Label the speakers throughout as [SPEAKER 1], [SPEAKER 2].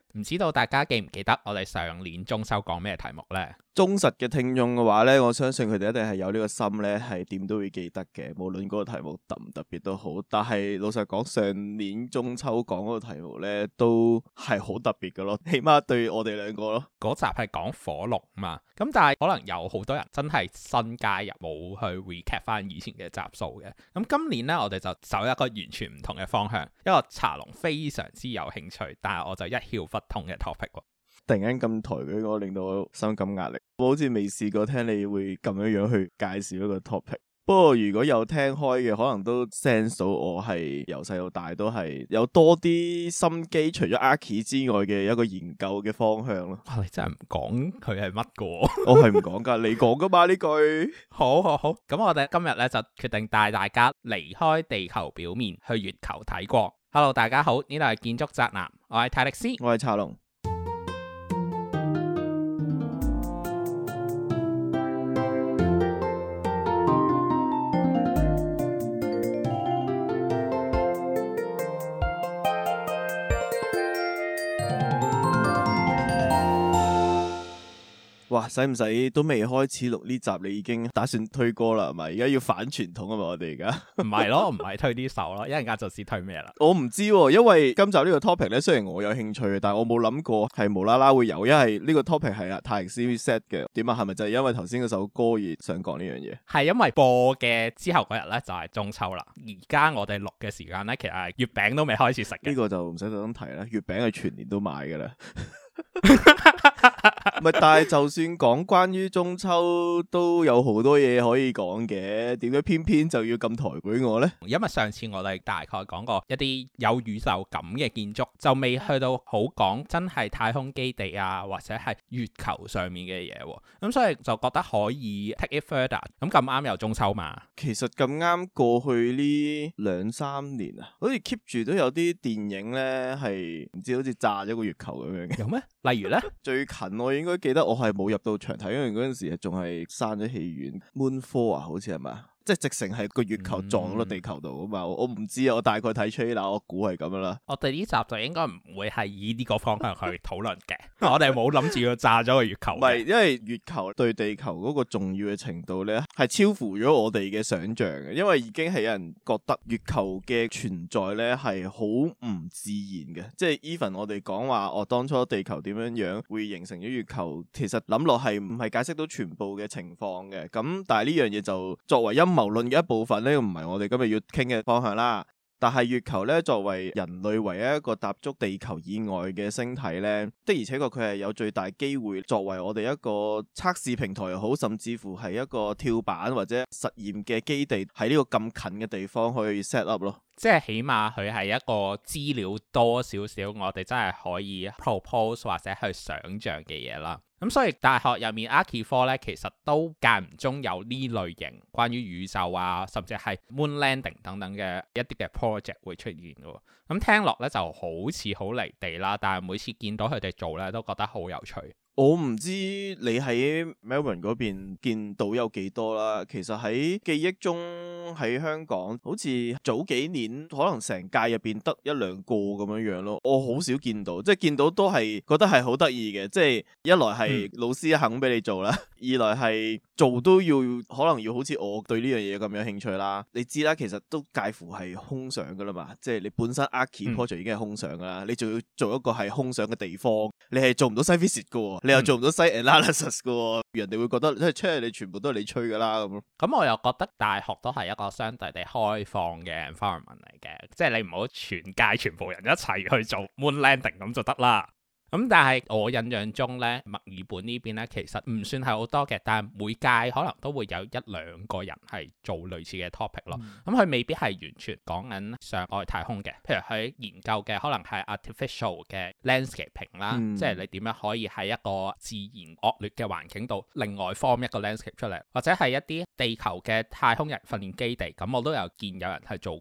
[SPEAKER 1] 唔知道大家記唔記得我哋上年中秋講咩題目呢？
[SPEAKER 2] 忠實嘅聽眾嘅話呢，我相信佢哋一定係有呢個心呢，係點都會記得嘅，無論嗰個題目特唔特別都好。但係老實講，上年中秋講嗰個題目呢，都係好特別嘅咯，起碼對我哋兩個咯。
[SPEAKER 1] 嗰集係講火龍嘛，咁但係可能有好多人真係新加入，冇去 recap 翻以前嘅集數嘅。咁今年呢，我哋就走一個完全唔同嘅方向，一個茶龍非常之有興趣，但係我就一竅不通嘅 topic。
[SPEAKER 2] 突然間咁抬舉我，令到我深感壓力。我好似未試過聽你會咁樣去介紹一個 topic。不過如果有聽開嘅，可能都 sense 到我係由細到大都係有多啲心機，除咗 Archi 之外嘅一個研究嘅方向咯。
[SPEAKER 1] 你真係唔講佢係乜個？
[SPEAKER 2] 我係唔講噶，你講噶嘛呢句。
[SPEAKER 1] 好，咁我哋今日咧就決定帶大家離開地球表面，去月球睇過。Hello， 大家好，呢度係建築宅男，我係泰力斯，
[SPEAKER 2] 我係茶龍。哇，使唔使都未開始錄呢集，你已經打算推歌啦，係咪？而家要反傳統啊嘛，我哋而家
[SPEAKER 1] 唔係咯，唔係推啲手咯，一陣間就知推咩啦。
[SPEAKER 2] 我唔知喎，因為今集呢個 topic 咧，雖然我有興趣，但係我冇諗過係無啦啦會有，因為呢個 topic 係阿泰力斯 set 嘅。點啊？係咪就係因為頭先嗰首歌而想講呢樣嘢？
[SPEAKER 1] 係因為播嘅之後嗰日咧就係中秋啦。而家我哋錄嘅時間咧，其實係月餅都未開始食嘅。
[SPEAKER 2] 呢個就唔使特登提啦，月餅係全年都買噶啦。唔係，但係就算講關於中秋都有好多嘢可以講嘅，點解偏偏就要咁抬舉我呢？
[SPEAKER 1] 因為上次我哋大概講過一啲有宇宙感嘅建築，就未去到好講真係太空基地啊，或者係月球上面嘅嘢，咁所以就覺得可以 take it further。咁啱有中秋嘛？
[SPEAKER 2] 其實咁啱過去呢2-3年啊，好似 keep 住都有啲電影呢，係唔知好似炸咗個月球咁樣嘅。
[SPEAKER 1] 有咩？例如呢？
[SPEAKER 2] 最近我應該記得我係冇入到場睇，因為嗰陣時仲係閂咗戲院。Moonfall 啊，好似係咪？即係直成係個月球撞落地球度啊嘛！我唔知啊，我大概睇 trailer，我估係咁樣啦。
[SPEAKER 1] 我哋呢集就應該唔會係以呢個方向去討論嘅。我哋冇諗住要炸咗個月球。唔係，因為
[SPEAKER 2] 月球對地球嗰個重要嘅程度咧，係超乎咗我哋嘅想象嘅。因為已經係有人覺得月球嘅存在咧係好唔自然嘅。即係 even 我哋講話，當初地球點樣會形成咗月球，其實諗落係唔係解釋到全部嘅情況嘅。咁但係呢樣嘢就作為陰謀論嘅一部分呢，唔係我哋今日要傾嘅方向啦。但係月球呢，作為人類唯一一個踏足地球以外嘅星體呢，的而且確佢係有最大機會作為我哋一個測試平台又好，甚至乎係一個跳板或者實驗嘅基地，喺呢個咁近嘅地方去 set up 咯。即係起碼佢係一個資料多少少，我哋真係可以 propose 或者去想像嘅嘢啦。咁所以大學入面 Archi 科咧，其實都間唔中有呢類型關於宇宙啊，甚至係 moon landing 等等嘅一啲嘅 project 會出現嘅。咁聽落咧就好似好離地啦，但係每次見到佢哋做咧，都覺得好有趣。我唔知你喺 Melbourne 嗰邊見到有幾多啦。其實喺記憶中喺香港，好似早幾年可能成屆入邊得1-2個咁樣樣咯。我好少見到，即係見到都係覺得係好得意嘅。即係一來係老師肯俾你做啦，二來係做都要可能要好似我對呢樣嘢咁有興趣啦。你知啦，其實都介乎係空想噶啦嘛。即係你本身 Archi project 已經係空想噶啦，你仲要做一個係空想嘅地方，你係做唔到 site visit 噶。你又做唔到 site analysis 嘅，人哋會覺得即係吹你全部都係你吹㗎啦咁。咁我又覺得大學都係一個相對地開放嘅 environment 嚟嘅，即係你唔好全屆全部人一齊去做 moon landing 咁就得啦。咁但係我印象中咧，墨爾本呢邊咧其實唔算係好多嘅，但係每屆可能都會有1-2個人係做類似嘅 topic 咯。咁佢未必係完全講緊上外太空嘅，譬如佢研究嘅可能係 artificial 嘅 landscaping 啦，即係你點樣可以喺一個自然惡劣嘅環境度另外 form 一個 landscape 出嚟，或者係一啲地球嘅太空人訓練基地，咁我都有見有人係做過咯。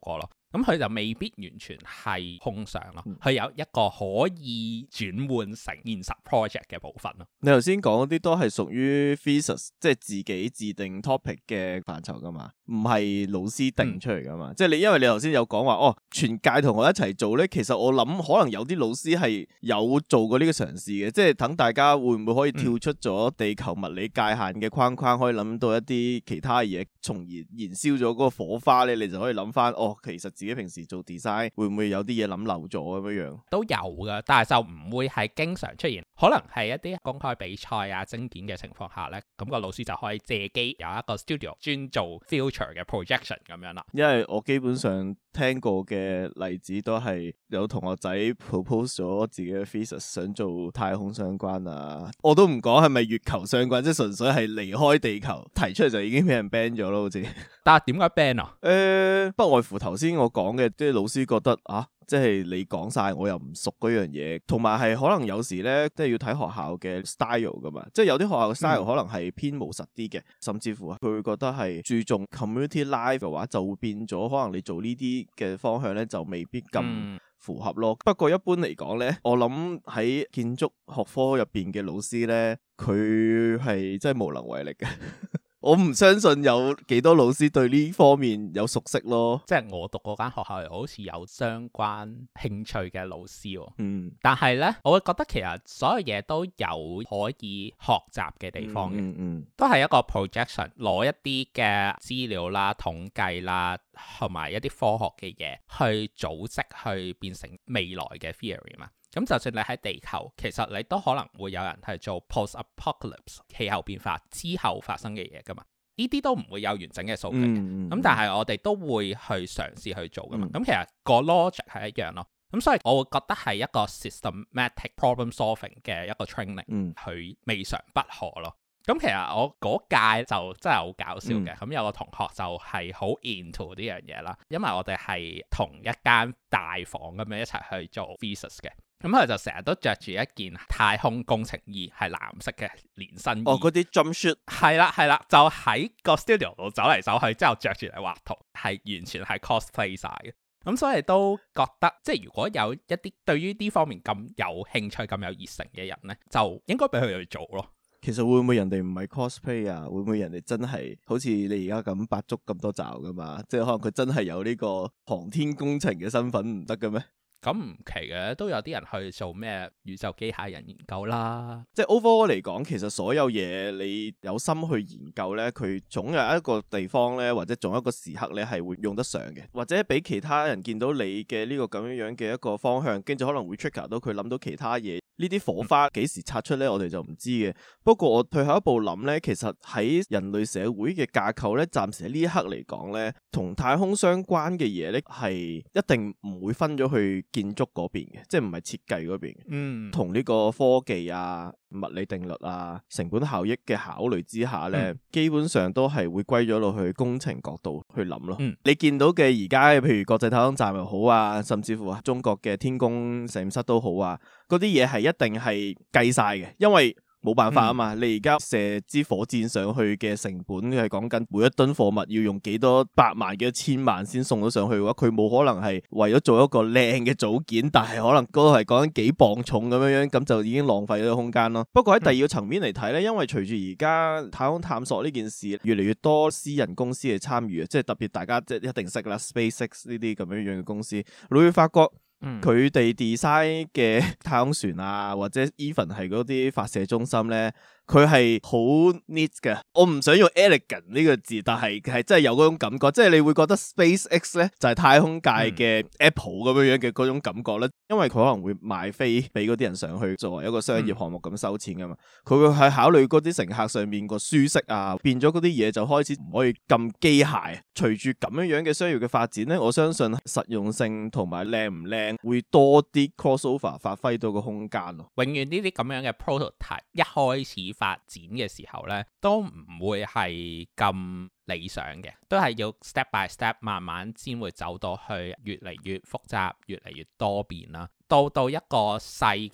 [SPEAKER 1] 咁佢就未必完全係空想咯，佢有一個可以轉換成現實 project 嘅部分咯。
[SPEAKER 2] 你頭先講嗰啲都係屬於 thesis， 即係自己自定 topic 嘅範疇噶嘛，唔係老師定出嚟噶嘛。即係因為你頭先有講話哦，全屆同學一齊做咧，其實我諗可能有啲老師係有做過呢個嘗試嘅，即係等大家會唔會可以跳出咗地球物理界限嘅框框，可以諗到一啲其他嘢，從而燃燒咗嗰個火花咧，你就可以諗翻哦，其實自己平時做 design 會唔會有啲嘢諗漏咗咁樣樣？都
[SPEAKER 1] 有噶，但係就唔會係經常出現，可能係一啲公開比賽啊、徵件嘅情況下咧，咁個老師就可以借機有一個 studio 專做 future 嘅 projection 咁樣啦。
[SPEAKER 2] 因為我基本上聽過嘅例子都係有同學仔 propose 咗自己嘅 thesis 想做太空相關啊，我都唔講係咪月球相關，即係純粹係離開地球提出嚟就已經俾人 ban 咗咯，好似。
[SPEAKER 1] 但係點解 ban 啊？
[SPEAKER 2] 不外乎頭先我講嘅，即係老師覺得啊，即係你講晒我又唔熟嗰樣嘢，同埋係可能有時咧，即係要睇學校嘅 style 噶嘛，即係有啲學校嘅 style 可能係偏務實啲嘅，甚至乎佢會覺得係注重 community life 嘅話，就會變咗可能你做呢啲嘅方向咧，就未必咁符合咯。不過一般嚟講咧，我諗喺建築學科入邊嘅老師咧，佢係真係無能為力嘅。我唔相信有幾多老師對呢方面有熟悉咯。即係
[SPEAKER 1] 我讀嗰間學校又好似有相關興趣嘅老師喎。但係呢，我會覺得其實所有嘢都有可以學習嘅地方嘅。都係一個 projection， 攞一啲嘅資料啦、統計啦，同埋一啲科學嘅嘢去組織，去變成未來嘅 theory 嘛。咁就算你喺地球，其實你都可能會有人係做 post-apocalypse 氣候變化之後發生嘅嘢噶嘛，呢啲都唔會有完整嘅數據嘅。咁但係我哋都會去嘗試去做噶嘛。咁其實個 logic 係一樣咯。咁所以我會覺得係一個 systematic problem solving 嘅一個 training，佢未嘗不可咯。咁其實我嗰屆就真係好搞笑嘅。咁有個同學就係好 into 呢樣嘢啦，因為我哋係同一間大房咁樣一齊去做 thesis 嘅。咁佢就成日都着住一件太空工程衣，係藍色嘅連身衣。哦，
[SPEAKER 2] 嗰啲 jump suit。
[SPEAKER 1] 係啦，就喺個 studio 度走嚟走去，之後着住嚟畫圖，係完全係 cosplay 晒嘅。咁所以都覺得，即係如果有一啲對於呢方面咁有興趣、咁有熱誠嘅人呢，就應該俾佢哋去做咯。
[SPEAKER 2] 其實會唔會人哋唔係 cosplay 啊？會唔會人哋真係好似你而家咁百足咁多爪噶嘛？即係可能佢真係有呢個航天工程嘅身份唔得嘅咩？
[SPEAKER 1] 咁唔奇嘅，都有啲人去做咩宇宙機械人研究啦。
[SPEAKER 2] 即係 overall 嚟講，其實所有嘢你有心去研究咧，佢總有一個地方咧，或者總有一個時刻咧係會用得上嘅，或者俾其他人見到你嘅呢個咁樣樣嘅一個方向，跟住可能會 trigger 到佢諗到其他嘢。呢啲火花幾時擦出咧，我哋就唔知嘅。不過我退後一步諗咧，其實喺人類社會嘅架構咧，暫時喺呢一刻嚟講咧，同太空相關嘅嘢咧係一定唔會分咗去建築嗰邊嘅，即係唔係設計嗰邊嘅。同呢個科技啊、物理定律啊、成本效益嘅考慮之下咧，基本上都係會歸咗落去工程角度去諗咯。你見到嘅而家譬如國際太空站又好啊，甚至乎中國嘅天宮實驗室都好啊，嗰啲嘢係一定係計晒嘅，因為冇辦法啊嘛。你而家射支火箭上去嘅成本係講緊每一噸貨物要用幾多百萬幾多千萬先送到上去嘅話，佢冇可能係為咗做一個靚嘅組件，但係可能嗰個係講緊幾磅重咁樣樣，咁就已經浪費咗個空間咯。不過喺第二個層面嚟睇咧，因為隨住而家太空探索呢件事越嚟越多私人公司嘅參與啊，即係特別大家即係一定識啦 SpaceX 呢啲咁樣樣嘅公司，你會發覺佢哋 design 嘅太空船啊，或者 even 係嗰啲發射中心咧，佢係好 neat 嘅。我唔想用 elegant 呢個字，但係真係有嗰種感覺，即係你會覺得 SpaceX 咧就係太空界嘅 Apple 咁樣樣嘅嗰種感覺咧，因為佢可能會賣飛俾嗰啲人上去作為一個商業項目咁收錢噶嘛，佢會係考慮嗰啲乘客上面個舒適啊，變咗嗰啲嘢就開始唔可以咁機械。隨住咁樣樣嘅商業嘅發展咧，我相信實用性同埋靚唔靚會多啲 crossover 發揮到個空間咯。
[SPEAKER 1] 永遠呢啲咁樣嘅 prototype 一開始發展嘅時候呢，都唔會係咁理想嘅，都係要 step by step 慢慢先會走到去越嚟越複雜、越嚟越多變啦。到一個細嘅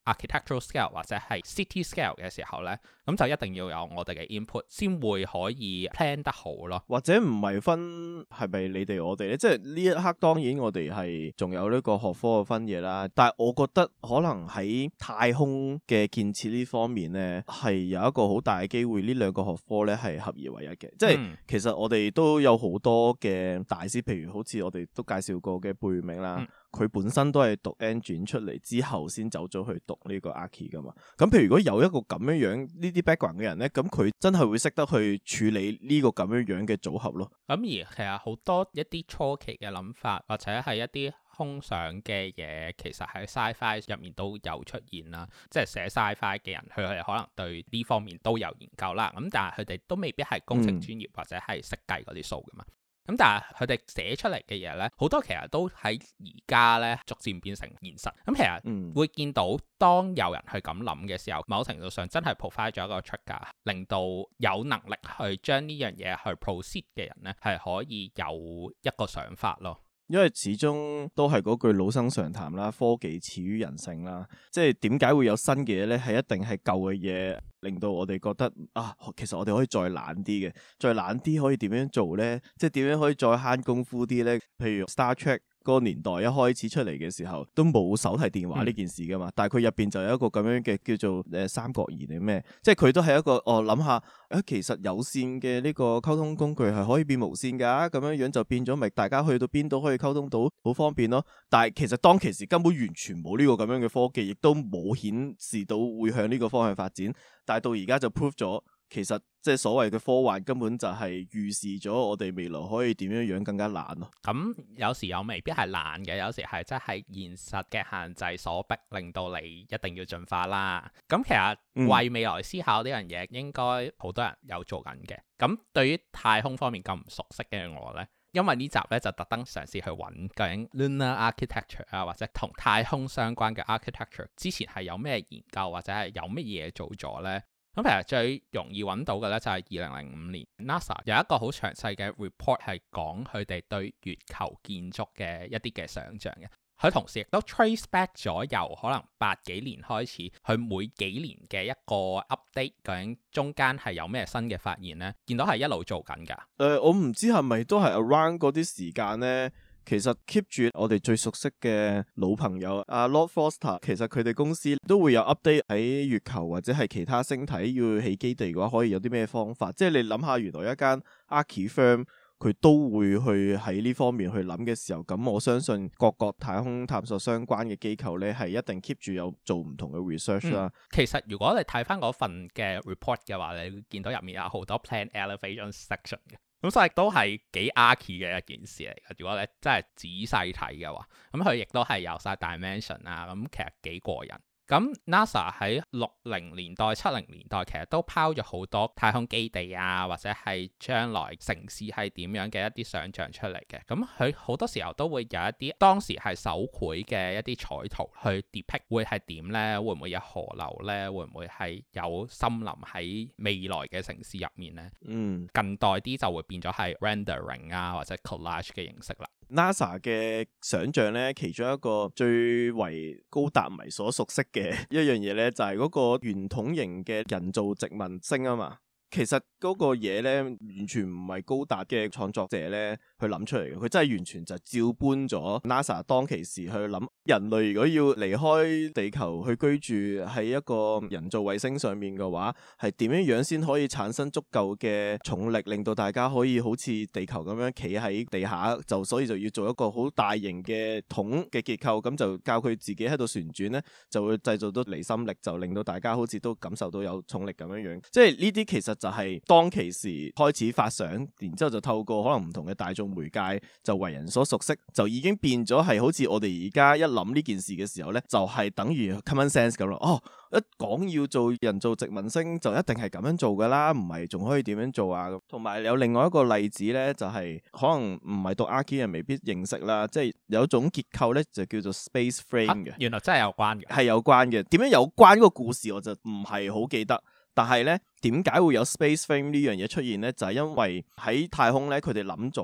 [SPEAKER 1] architectural scale 或者係 city scale 嘅時候咧，咁就一定要有我哋嘅 input 先會可以 plan 得好咯。
[SPEAKER 2] 或者唔係分係咪你哋我哋咧？即係呢一刻當然我哋係仲有呢個學科嘅分野啦，但係我覺得可能喺太空嘅建設呢方面咧，係有一個好大嘅機會，呢兩個學科咧係合而為一嘅。即係其實我哋都有好多嘅大師，譬如好似我哋都介紹過嘅貝聿銘啦。佢本身都係讀 engine 出嚟之後先走咗去讀呢個 archi 噶嘛，咁譬如如果有一個咁樣呢啲 background 嘅人咧，咁佢真係會識得去處理呢個咁樣嘅組合咯。
[SPEAKER 1] 咁而其實好多一啲初期嘅諗法或者係一啲空想嘅嘢，其實喺 sci-fi 入面都有出現啦。即係寫 sci-fi 嘅人，佢哋可能對呢方面都有研究啦。咁但係佢哋都未必係工程專業或者係識計嗰啲數噶嘛。咁但係佢哋寫出嚟嘅嘢咧，好多其實都喺而家咧逐漸變成現實。咁其實會見到當有人去咁諗嘅時候，某程度上真係 provide 咗一個 trigger，令到有能力去將呢樣嘢去 proceed 嘅人咧，係可以有一個想法咯。
[SPEAKER 2] 因為始終都係嗰句老生常談啦，科技始於人性啦。即係點解會有新嘅嘢咧？係一定係舊嘅嘢令到我哋覺得啊，其實我哋可以再懶啲嘅，再懶啲可以點樣做咧？即係點樣可以再慳功夫啲咧？譬如 Star Trek 嗰個年代一開始出嚟嘅時候，都冇手提電話呢件事噶嘛，但係佢入邊就有一個咁樣嘅叫做三角儀定咩？即係佢都係一個諗下其實有線嘅呢個溝通工具係可以變無線噶，咁樣樣就變咗咪大家去到邊度可以溝通到，好方便咯。但係其實當其時根本完全冇呢個咁樣嘅科技，亦都冇顯示到會向呢個方向發展。但係到而家就 prove 咗，其實即係所謂嘅科幻根本就係預示咗我哋未來可以點樣樣更加懶咯。
[SPEAKER 1] 咁有時又未必係懶嘅，有時係真係現實嘅限制所逼，令到你一定要進化啦。咁其實為未來思考呢樣嘢，應該好多人有做緊嘅。咁對於太空方面咁唔熟悉嘅我呢，因為呢集咧就特登嘗試去揾究竟 lunar architecture 啊，或者同太空相關嘅 architecture 之前係有咩研究或者係有乜嘢做咗呢？咁其實最容易揾到嘅咧就係2005年 NASA 有一個好詳細嘅 report 係講佢哋對月球建築嘅一啲嘅想像嘅。佢同時亦都 trace back 咗由可能80幾年開始，佢每幾年嘅一個 update， 究竟中間係有咩新嘅發現呢？見到係一路做緊㗎。
[SPEAKER 2] 我唔知係咪都係 around 嗰啲時間呢？其實 keep 住我哋最熟悉嘅老朋友阿 Lord Foster， 其實佢哋公司都會有 update 喺月球或者係其他星體要起基地嘅話，可以有啲咩方法？即係你諗下，原來一間 archi firm 佢都會去喺呢方面去諗嘅時候，咁我相信各個太空探索相關嘅機構咧，係一定 keep 住有做唔同嘅 research 啦。
[SPEAKER 1] 其實如果你睇翻嗰份嘅 report 嘅話，你會見到入面有好多 plan elevation section 嘅。咁所以都係幾 archi 嘅一件事嚟嘅。如果你真係仔細睇嘅話，咁佢亦都係有晒 dimension 啊，咁其實幾過癮。咁 NASA 喺60年代、70年代其實都拋咗好多太空基地啊，或者係將來城市係點樣嘅一啲想像出嚟嘅。咁佢好多時候都會有一啲當時係手繪嘅一啲彩圖去 depict 會係點呢？會唔會有河流呢？會唔會係有森林喺未來嘅城市入面呢？近代啲就會變咗係 rendering 啊，或者 collage 嘅形式啦。
[SPEAKER 2] NASA 嘅想像咧，其中一個最為高達迷所熟悉嘅一樣嘢咧，就係嗰個圓筒形嘅人造殖民星啊嘛。其實嗰個嘢咧，完全唔係高達嘅創作者咧去諗出嚟嘅，佢真係完全就照搬咗 NASA 當其時去諗，人類如果要離開地球去居住喺一個人造衛星上面嘅話，係點樣樣先可以產生足夠嘅重力，令到大家可以好似地球咁樣企喺地下，所以就要做一個好大型嘅筒嘅結構，咁就教佢自己喺度旋轉咧，就會製造到離心力，就令到大家好似都感受到有重力咁樣樣。即係呢啲其實就係當其時開始發想，然之後就透過可能唔同嘅大眾媒介就為人所熟悉，就已經變咗係好似我哋而家一諗呢件事嘅時候呢，就係等於 common sense 咁咯。哦，一講要做人造殖民星就一定係咁樣做噶啦，唔係仲可以點樣做啊？同埋有另外一個例子呢，就係可能唔係讀 archi 人未必認識啦，即係有一種結構呢，就叫做 space frame 嘅。
[SPEAKER 1] 原來真係有關嘅，
[SPEAKER 2] 係有關嘅。點樣有關個故事我就唔係好記得。但係咧，點解會有 space frame 呢樣嘢出現咧？就係因為喺太空咧，佢哋諗咗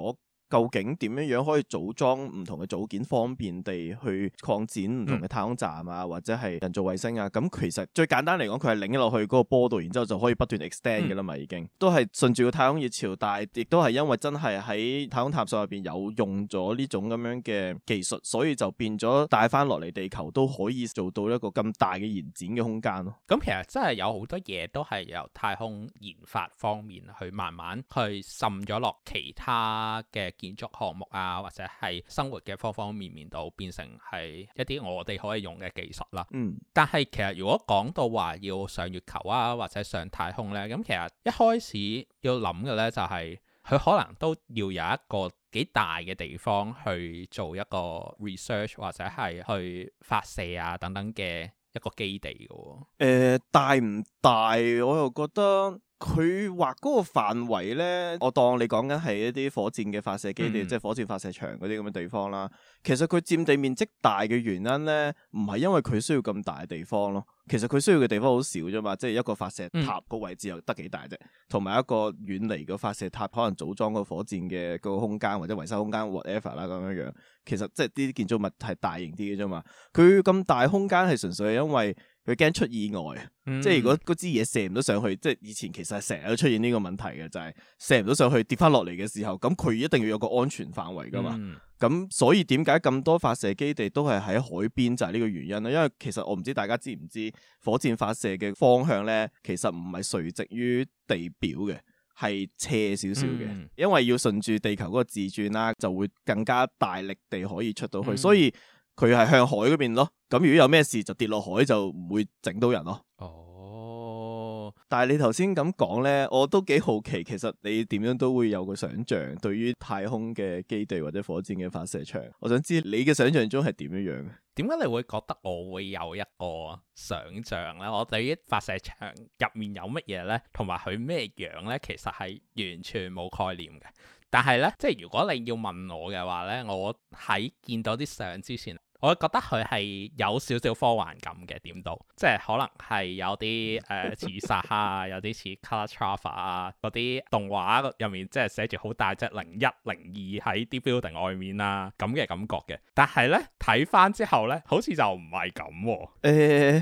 [SPEAKER 2] 究竟點樣可以組裝唔同嘅組件，方便地去擴展唔同嘅太空站啊，或者係人造衛星啊。咁其實最簡單嚟講，佢係擰落去嗰個波度，然之後就可以不斷 extend 嘅啦嘛，已經都係順住個太空熱潮，但係亦都係因為真係喺太空探索入邊有用咗呢種咁樣嘅技術，所以就變咗帶翻落嚟地球都可以做到一個咁大嘅延展嘅空間咯。
[SPEAKER 1] 咁其實真係有好多嘢都係由太空研發方面去慢慢去滲咗落其他嘅建築項目啊，或者係生活嘅方方面面度，變成係一啲我哋可以用嘅技術啦。但係其實如果講到話要上月球啊，或者上太空呢，咁其實一開始要諗嘅呢，就係佢可能都要有一個幾大嘅地方去做一個 research 或者係去發射啊等等嘅一個基地嘅。
[SPEAKER 2] 大唔大？我又覺得佢畫嗰個範圍呢，我當你講緊係一啲火箭嘅發射基地，即係火箭發射場嗰啲咁嘅地方啦。其實佢佔地面積大嘅原因呢，唔係因為佢需要咁大嘅地方咯。其實佢需要嘅地方好少啫嘛，即係一個發射塔個位置又得幾大啫，同埋一個遠離個發射塔可能組裝個火箭嘅嗰個空間或者維修空間 whatever 啦咁樣樣。其實即係呢啲建築物係大型啲嘅啫嘛。佢咁大空間係純粹係因為佢驚出意外，即係如果嗰支嘢射唔到上去，即係以前其實係成日都出現呢個問題嘅，就係射唔到上去跌翻落嚟嘅時候，咁佢一定要有個安全範圍噶嘛。咁所以點解咁多發射基地都係喺海邊，就係呢個原因啦。因為其實我唔知大家知唔知火箭發射嘅方向咧，其實唔係垂直於地表嘅，係斜少少嘅。因為要順住地球嗰個自轉啦，就會更加大力地可以出到去，所以佢係向海嗰邊咯。咁如果有咩事就跌落海，就唔會整到人咯。但係你頭先咁講呢，我都幾好奇，其實你點樣都會有個想像對於太空嘅基地或者火箭嘅發射場。我想知你嘅想像中係點樣樣？
[SPEAKER 1] 點解你會覺得我會有一個想像呢？我對於發射場入面有乜嘢呢？同埋佢咩樣呢？其實係完全冇概念嘅。但係呢，即係如果你要問我嘅話呢，我喺見到啲相之前，我覺得佢係有少少科幻感嘅，點到即係可能係有啲似撒哈啊，有啲似 Calatrava 啊，嗰啲動畫入面即係寫住好大隻01、02喺啲 building 外面啊咁嘅感覺嘅。但係呢，睇翻之後呢，好似就唔係咁喎。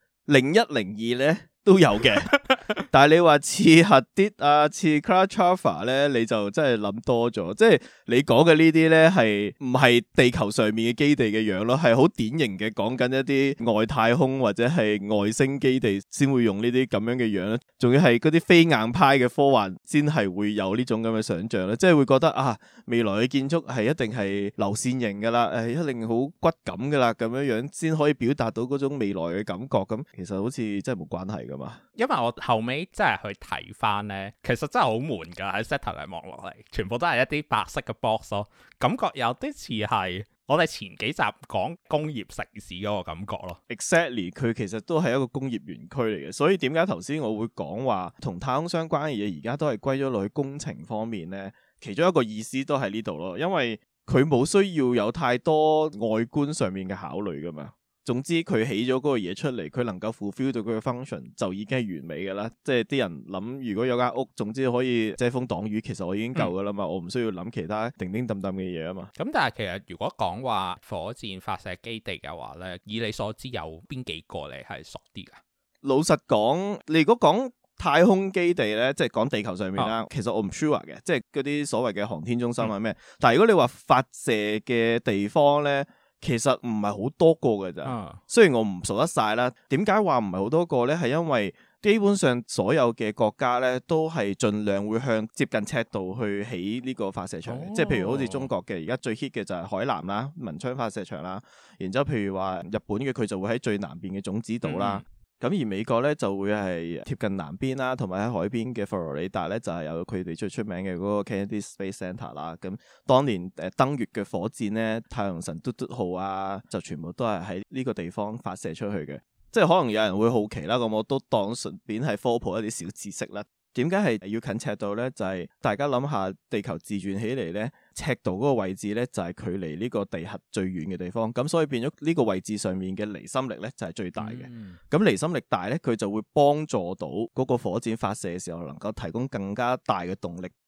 [SPEAKER 2] 01、02呢都有嘅。但係你話似核啲啊，似 Calatrava 咧，你就真係諗多咗。即係你講嘅呢啲咧，係唔係地球上面嘅基地嘅樣咯？係好典型嘅講緊一啲外太空或者係外星基地先會用呢啲咁樣嘅樣咧。仲要係嗰啲非硬派嘅科幻先係會有呢種咁嘅想像咧。即係會覺得啊，未來嘅建築係一定係流線型噶啦，一定好骨感噶啦，咁樣樣先可以表達到嗰種未來嘅感覺。咁其實好似真係冇關係噶嘛。
[SPEAKER 1] 因為我後尾真係去睇翻呢，其實真係好悶㗎，喺 satellite 望落嚟，全部都係一啲白色嘅 box 咯，感覺有啲似係我哋前幾集講工業城市嗰個感覺咯。
[SPEAKER 2] Exactly， 佢其實都係一個工業園區嚟嘅，所以點解頭先我會講話同太空相關嘅嘢，而家都係歸咗落去工程方面呢？其中一個意思都係呢度咯，因為佢冇需要有太多外觀上面嘅考慮㗎嘛。總之佢起咗嗰個嘢出嚟，佢能夠 fulfill 到佢嘅 function 就已經係完美嘅啦。即係啲人諗，如果有間屋，總之可以遮風擋雨，其實我已經夠噶啦嘛。我唔需要諗其他叮叮噹噹嘅嘢啊嘛。
[SPEAKER 1] 咁但係其實如果講話火箭發射基地嘅話呢，以你所知有邊幾個你係熟啲噶？
[SPEAKER 2] 老實講，你如果講太空基地呢，即係講地球上面啦，其實我唔 sure 嘅，即係嗰啲所謂嘅航天中心啊咩。但係如果你話發射嘅地方呢，其實唔係好多個㗎咋，雖然我唔數得晒啦。點解話唔係好多個呢？係因為基本上所有嘅國家呢，都係盡量會向接近赤道去起呢個發射場嘅。即係譬如好似中國嘅，而家最 hit 嘅就係海南啦、文昌發射場啦。然之後譬如話日本嘅，佢就會喺最南邊嘅種子島啦。咁而美國咧就會係貼近南邊啦，同埋喺海邊嘅佛羅里達咧就係有佢哋最出名嘅嗰個 Kennedy Space Center 啦。咁當年登月嘅火箭咧，太陽神嘟嘟號啊，就全部都係喺呢個地方發射出去嘅。即係可能有人會好奇啦，咁我都當順便係科普一啲小知識啦。點解係要近赤道呢？就係大家諗下，地球自轉起嚟呢，赤道嗰個位置呢，就係距離呢個地核最遠嘅地方，咁所以變咗呢個位置上面嘅離心力呢，就係最大嘅。咁離心力大呢，佢就會幫助到嗰個火箭發射嘅時候能夠提供更加大嘅動力，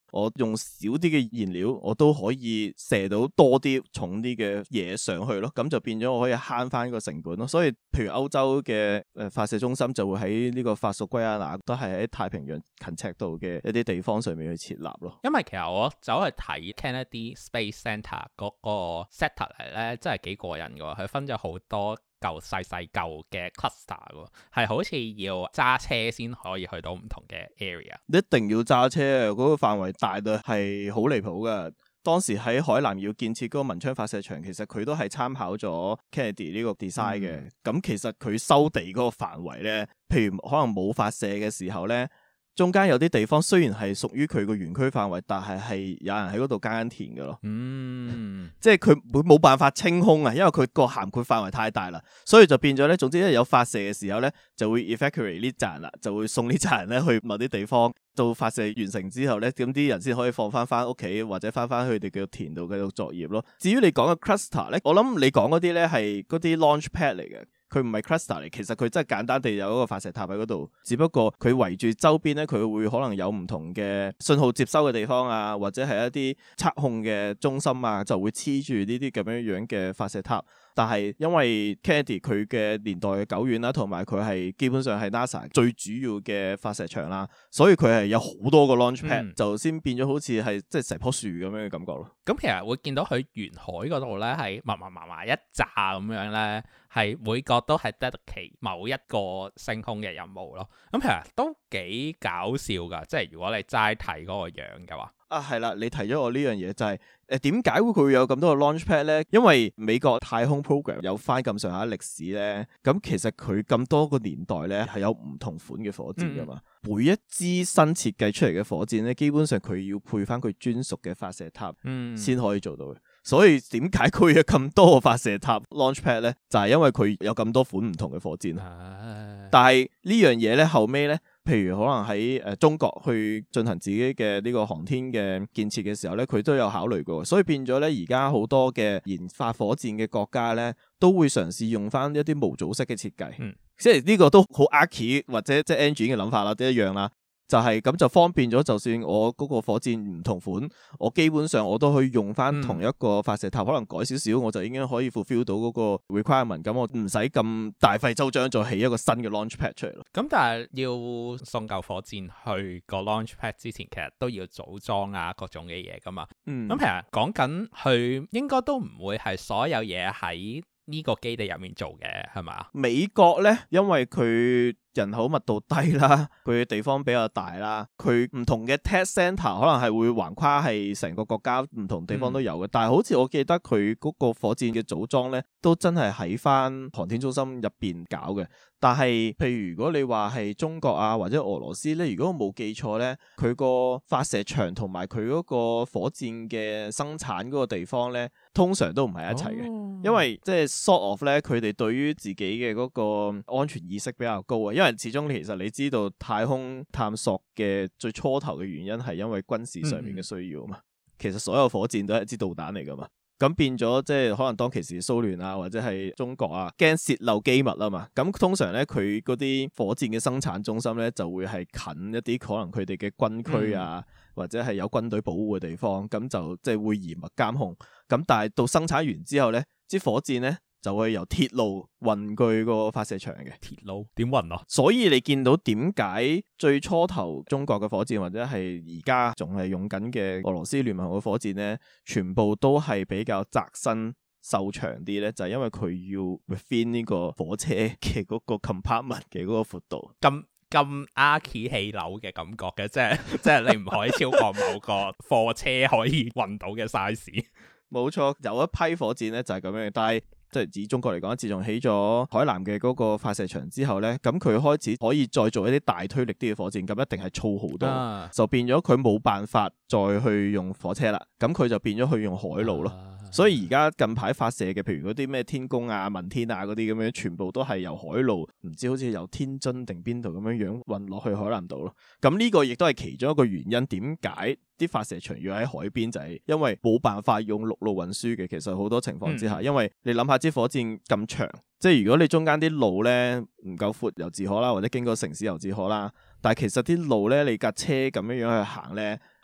[SPEAKER 2] 我用少啲嘅燃料，我都可以射到多啲重啲嘅嘢上去咯，咁就變咗我可以慳翻個成本咯。所以譬如歐洲嘅發射中心就會喺呢個法屬圭亞那，都係喺太平洋近赤道嘅一啲地方上面去設立咯。因為
[SPEAKER 1] 其實我走去睇 Kennedy Space Center 嗰個 setup 嚟咧，真係幾過癮㗎，佢分咗好多舊細舊嘅 cluster 喎，係好似要揸車先可以去到唔同嘅 area。
[SPEAKER 2] 一定要揸車，嗰個範圍大到係好離譜㗎。當時喺海南要建設嗰個文昌發射場，其實佢都係參考咗 Kennedy 呢個 design 嘅。咁其實佢收地嗰個範圍咧，譬如可能冇發射嘅時候咧，中間有啲地方雖然係屬於佢個園區範圍，但係有人喺嗰度耕緊田㗎咯。即係佢會冇辦法清空啊，因為佢個涵括範圍太大啦，所以就變咗咧。總之一有發射嘅時候咧，就會 evacuate 呢扎人啦，就會送呢扎人咧去某啲地方。到發射完成之後咧，咁啲人先可以放翻屋企，或者翻佢哋嘅田度繼續作業咯。至於你講嘅 cluster 咧，我諗你講嗰啲咧係嗰啲 launch pad 嚟嘅。佢唔係 cluster 嚟，其實佢真係簡單地有一個發射塔喺嗰度，只不過佢圍住周邊咧，佢會可能有唔同嘅信號接收嘅地方啊，或者係一啲測控嘅中心啊，就會黐住呢啲咁樣嘅發射塔。但係因為 Kennedy 佢嘅年代久遠啦，同埋佢係基本上係 NASA 最主要嘅發射場啦，所以佢係有好多個 launch pad，就先變咗好似係即係成棵樹咁樣嘅感覺咯。
[SPEAKER 1] 咁其實會見到佢沿海嗰度咧係密一紮咁樣咧，係每個都係 dedicate 某一個升空嘅任務咯。咁其實都幾搞笑噶，即係如果你齋睇嗰個樣嘅話。
[SPEAKER 2] 啊，係啦，你提咗我呢樣嘢就係點解佢會有咁多個 launch pad 咧？因為美國太空 program 有翻咁上下歷史咧，咁其實佢咁多個年代咧係有唔同款嘅火箭噶嘛。每一支新設計出嚟嘅火箭咧，基本上佢要配翻佢專屬嘅發射塔先可以做到嘅。所以點解佢有咁多個發射塔 launch pad 咧？就係因為佢有咁多款唔同嘅火箭。但係呢樣嘢咧後尾咧，譬如可能喺中國去進行自己嘅呢個航天嘅建設嘅時候咧，佢都有考慮過，所以變咗咧而家好多嘅研發火箭嘅國家咧，都會嘗試用翻一啲模組式嘅設計，即係呢個都好 archi 或者即係 engine 嘅諗法啦，都一樣啦。就係咁就方便咗，就算我嗰個火箭唔同款，我基本上我都可以用翻同一個發射塔，可能改少少，我就已經可以 fulfill 到嗰個 requirement。咁我唔使咁大費周章再起一個新嘅 launch pad 出嚟咯。咁
[SPEAKER 1] 但係要送嚿火箭去個 launch pad 之前，其實都要組裝啊各種嘅嘢噶嘛。咁其實講緊佢應該都唔會係所有嘢喺呢個基地入面做嘅，係咪？
[SPEAKER 2] 美國咧，因為佢人口密度低啦，佢嘅地方比較大啦，佢唔同嘅 test center 可能係會橫跨係成個國家唔同地方都有嘅。但係好似我記得佢嗰個火箭嘅組裝咧，都真係喺翻航天中心入邊搞嘅。但係譬如如果你話係中國啊或者俄羅斯咧，如果我冇記錯咧，佢個發射場同埋佢嗰個火箭嘅生產嗰個地方咧，通常都唔係一齊嘅，因為即係 sort of 咧，佢哋對於自己嘅嗰個安全意識比較高啊。因為始終其實你知道太空探索嘅最初頭嘅原因係因為軍事上面嘅需要嘛。其實所有火箭都係一支導彈嚟噶嘛。咁變咗即係可能當其時蘇聯啊或者係中國啊驚洩漏機密啊嘛。咁通常咧佢嗰啲火箭嘅生產中心咧就會係近一啲可能佢哋嘅軍區啊，或者係有軍隊保護嘅地方，咁就即係會嚴密監控。咁但係到生產完之後咧，支火箭咧就會由鐵路運去個發射場嘅。
[SPEAKER 1] 鐵路點運啊？
[SPEAKER 2] 所以你見到點解最初頭中國嘅火箭或者係而家仲係用緊嘅俄羅斯聯盟嘅火箭咧，全部都係比較窄身瘦長啲咧，就係因為佢要 within 呢個火車嘅嗰個 compartment 嘅嗰個闊度。
[SPEAKER 1] 咁 archi 氣流嘅感覺嘅，即係你唔可以超過某個貨車可以運到嘅 size。
[SPEAKER 2] 冇錯，有一批火箭咧就係咁樣，但係即係以中國嚟講，自從起咗海南嘅嗰個發射場之後咧，咁佢開始可以再做一啲大推力啲嘅火箭，咁一定係粗好多，就變咗佢冇辦法再去用火車啦，咁佢就變咗去用海路咯。所以而家近排發射嘅，譬如嗰啲咩天宮啊、問天啊嗰啲咁樣，全部都係由海路，唔知好似由天津定邊度咁樣運落去海南島咯。咁呢個亦都係其中一個原因，點解啲發射場要喺海邊，就係因為冇辦法用陸路運輸嘅。其實好多情況之下，因為你諗下支火箭咁長，即係如果你中間啲路咧唔夠闊又自可啦，或者經過城市又自可啦。但係其實啲路咧，你架車咁樣去行咧，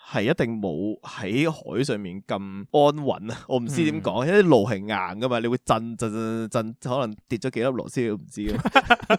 [SPEAKER 2] 係一定冇喺海上面咁安穩啊！我唔知點講，因為啲路係硬噶嘛，你會震，可能跌咗幾粒螺絲都唔知啊！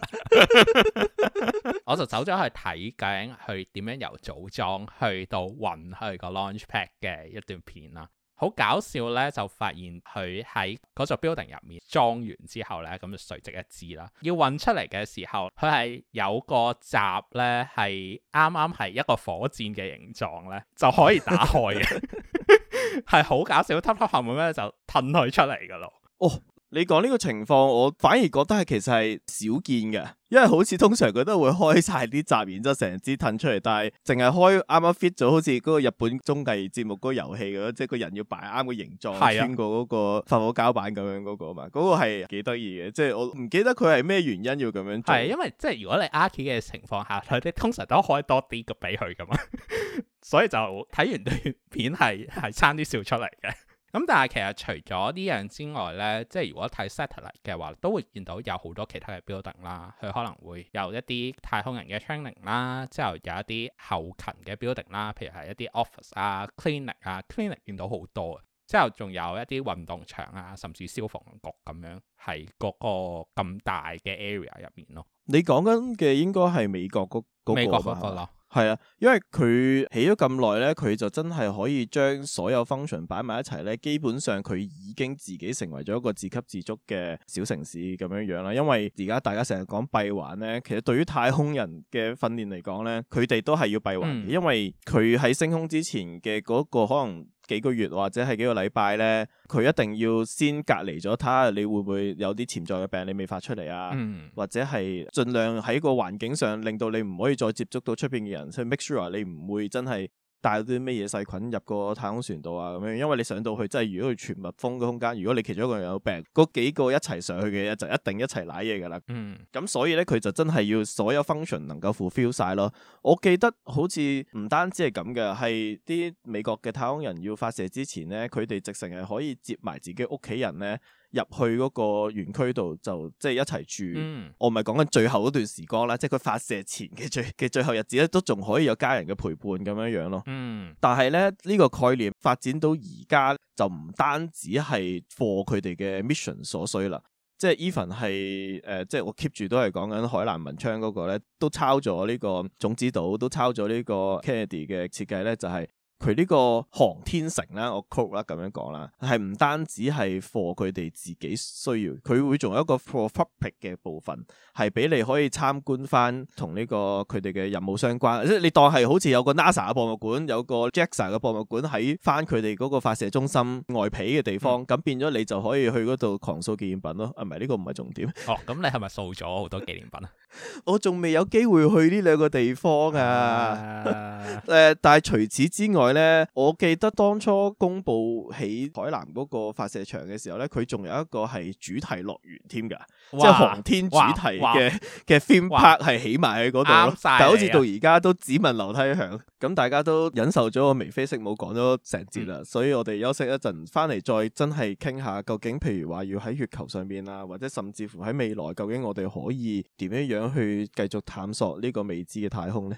[SPEAKER 1] 我就走咗去睇究竟佢點樣由組裝去到運去個 launch pad 嘅一段片啦。好搞笑咧，就發現佢喺嗰座 building 入面裝完之後咧，咁就垂直一支啦。要運出嚟嘅時候，佢係有個閘咧，係啱啱係一個火箭嘅形狀咧，就可以打開嘅，係好搞笑。突後面咧就褪佢出嚟噶咯。
[SPEAKER 2] 哦。你講呢個情況，我反而覺得係其實係少見嘅，因為好似通常佢都會開晒啲閘，然之後成支褪出嚟，但係淨係開啱啱 fit 咗，好似嗰個日本綜藝節目嗰個遊戲咁，即係個人要擺啱個形狀，穿過嗰個發火膠板咁樣嗰個嘛，嗰個係幾得意嘅，即係我唔記得佢係咩原因要咁樣做。係因
[SPEAKER 1] 為即係如果你 Archi 嘅情況下，佢哋通常都開多啲個俾佢噶嘛，所以就睇完段片係差啲笑出嚟嘅。咁但係其實除咗呢樣之外呢，即係如果睇 satellite 嘅話，都會見到有好多其他嘅 building 啦，佢可能會有一啲太空人嘅 training 啦，之後有一啲後勤嘅 building 啦，譬如係一啲 office 啊、clinic 見到好多，之後仲有一啲運動場啊，甚至消防局咁樣，係嗰個咁大嘅 area 入面咯。
[SPEAKER 2] 你講緊嘅應該係美國嗰個
[SPEAKER 1] 美國嗰個咯。
[SPEAKER 2] 係啊，因為佢起咗咁耐咧，佢就真係可以將所有 function 擺埋一齊咧。基本上佢已經自己成為咗一個自給自足嘅小城市咁樣樣啦。因為而家大家成日講閉環咧，其實對於太空人嘅訓練嚟講咧，佢哋都係要閉環嘅，因為佢喺升空之前嘅嗰個可能幾個月或者係幾個禮拜咧，佢一定要先隔離咗，睇下你會唔會有啲潛在嘅病你未發出嚟啊，或者係盡量喺個環境上令到你唔可以再接觸到出邊嘅人，去 make sure 你唔會真係帶到啲咩嘢細菌入個太空船度啊咁樣，因為你上到去真係如果佢全密封嘅空間，如果你其中一個人有病，嗰幾個一齊上去嘅就一定一齊瀨嘢噶啦。咁所以咧佢就真係要所有 function 能夠 fulfill 晒咯。我記得好似唔單止係咁嘅，係啲美國嘅太空人要發射之前咧，佢哋直情係可以接埋自己屋企人咧入去嗰個園區度，就即係一齊住。我唔係講緊最後嗰段時光啦，即係佢發射前嘅最後日子咧，都仲可以有家人嘅陪伴咁樣樣咯。但係咧呢個概念發展到而家就唔單止係 for 佢哋嘅 mission 所需啦，即係 even 係即係我 keep 住都係講緊海南文昌嗰個咧，都抄咗呢個種子島，都抄咗呢個 Kennedy 嘅設計咧，就係佢呢個航天城啦，我 quote 啦咁樣講啦，係唔單止係 for 佢哋自己需要，佢會仲有一個 for public 嘅部分，係俾你可以參觀翻同呢個佢哋嘅任務相關，即係你當係好似有個 NASA 嘅博物館，有個 JAXA 嘅博物館喺翻佢哋嗰個發射中心外皮嘅地方，咁變咗你就可以去嗰度狂掃紀念品咯。啊，唔係，呢個唔係重點。
[SPEAKER 1] 哦，咁你係咪掃咗好多紀念品啊？
[SPEAKER 2] 我仲未有機會去呢兩個地方啊。但係除此之外咧，我記得當初公布起海南嗰個發射場嘅時候咧，佢仲有一個係主題樂園添㗎，即係航天主題嘅 theme park 係起埋喺嗰度咯。但係好似到而家都只聞樓梯響，咁大家都忍受咗我眉飛色舞講咗成節啦，所以我哋休息一陣，翻嚟再真係傾下究竟，譬如話要喺月球上邊啊，或者甚至乎喺未來，究竟我哋可以點樣去繼續探索呢個未知嘅太空呢？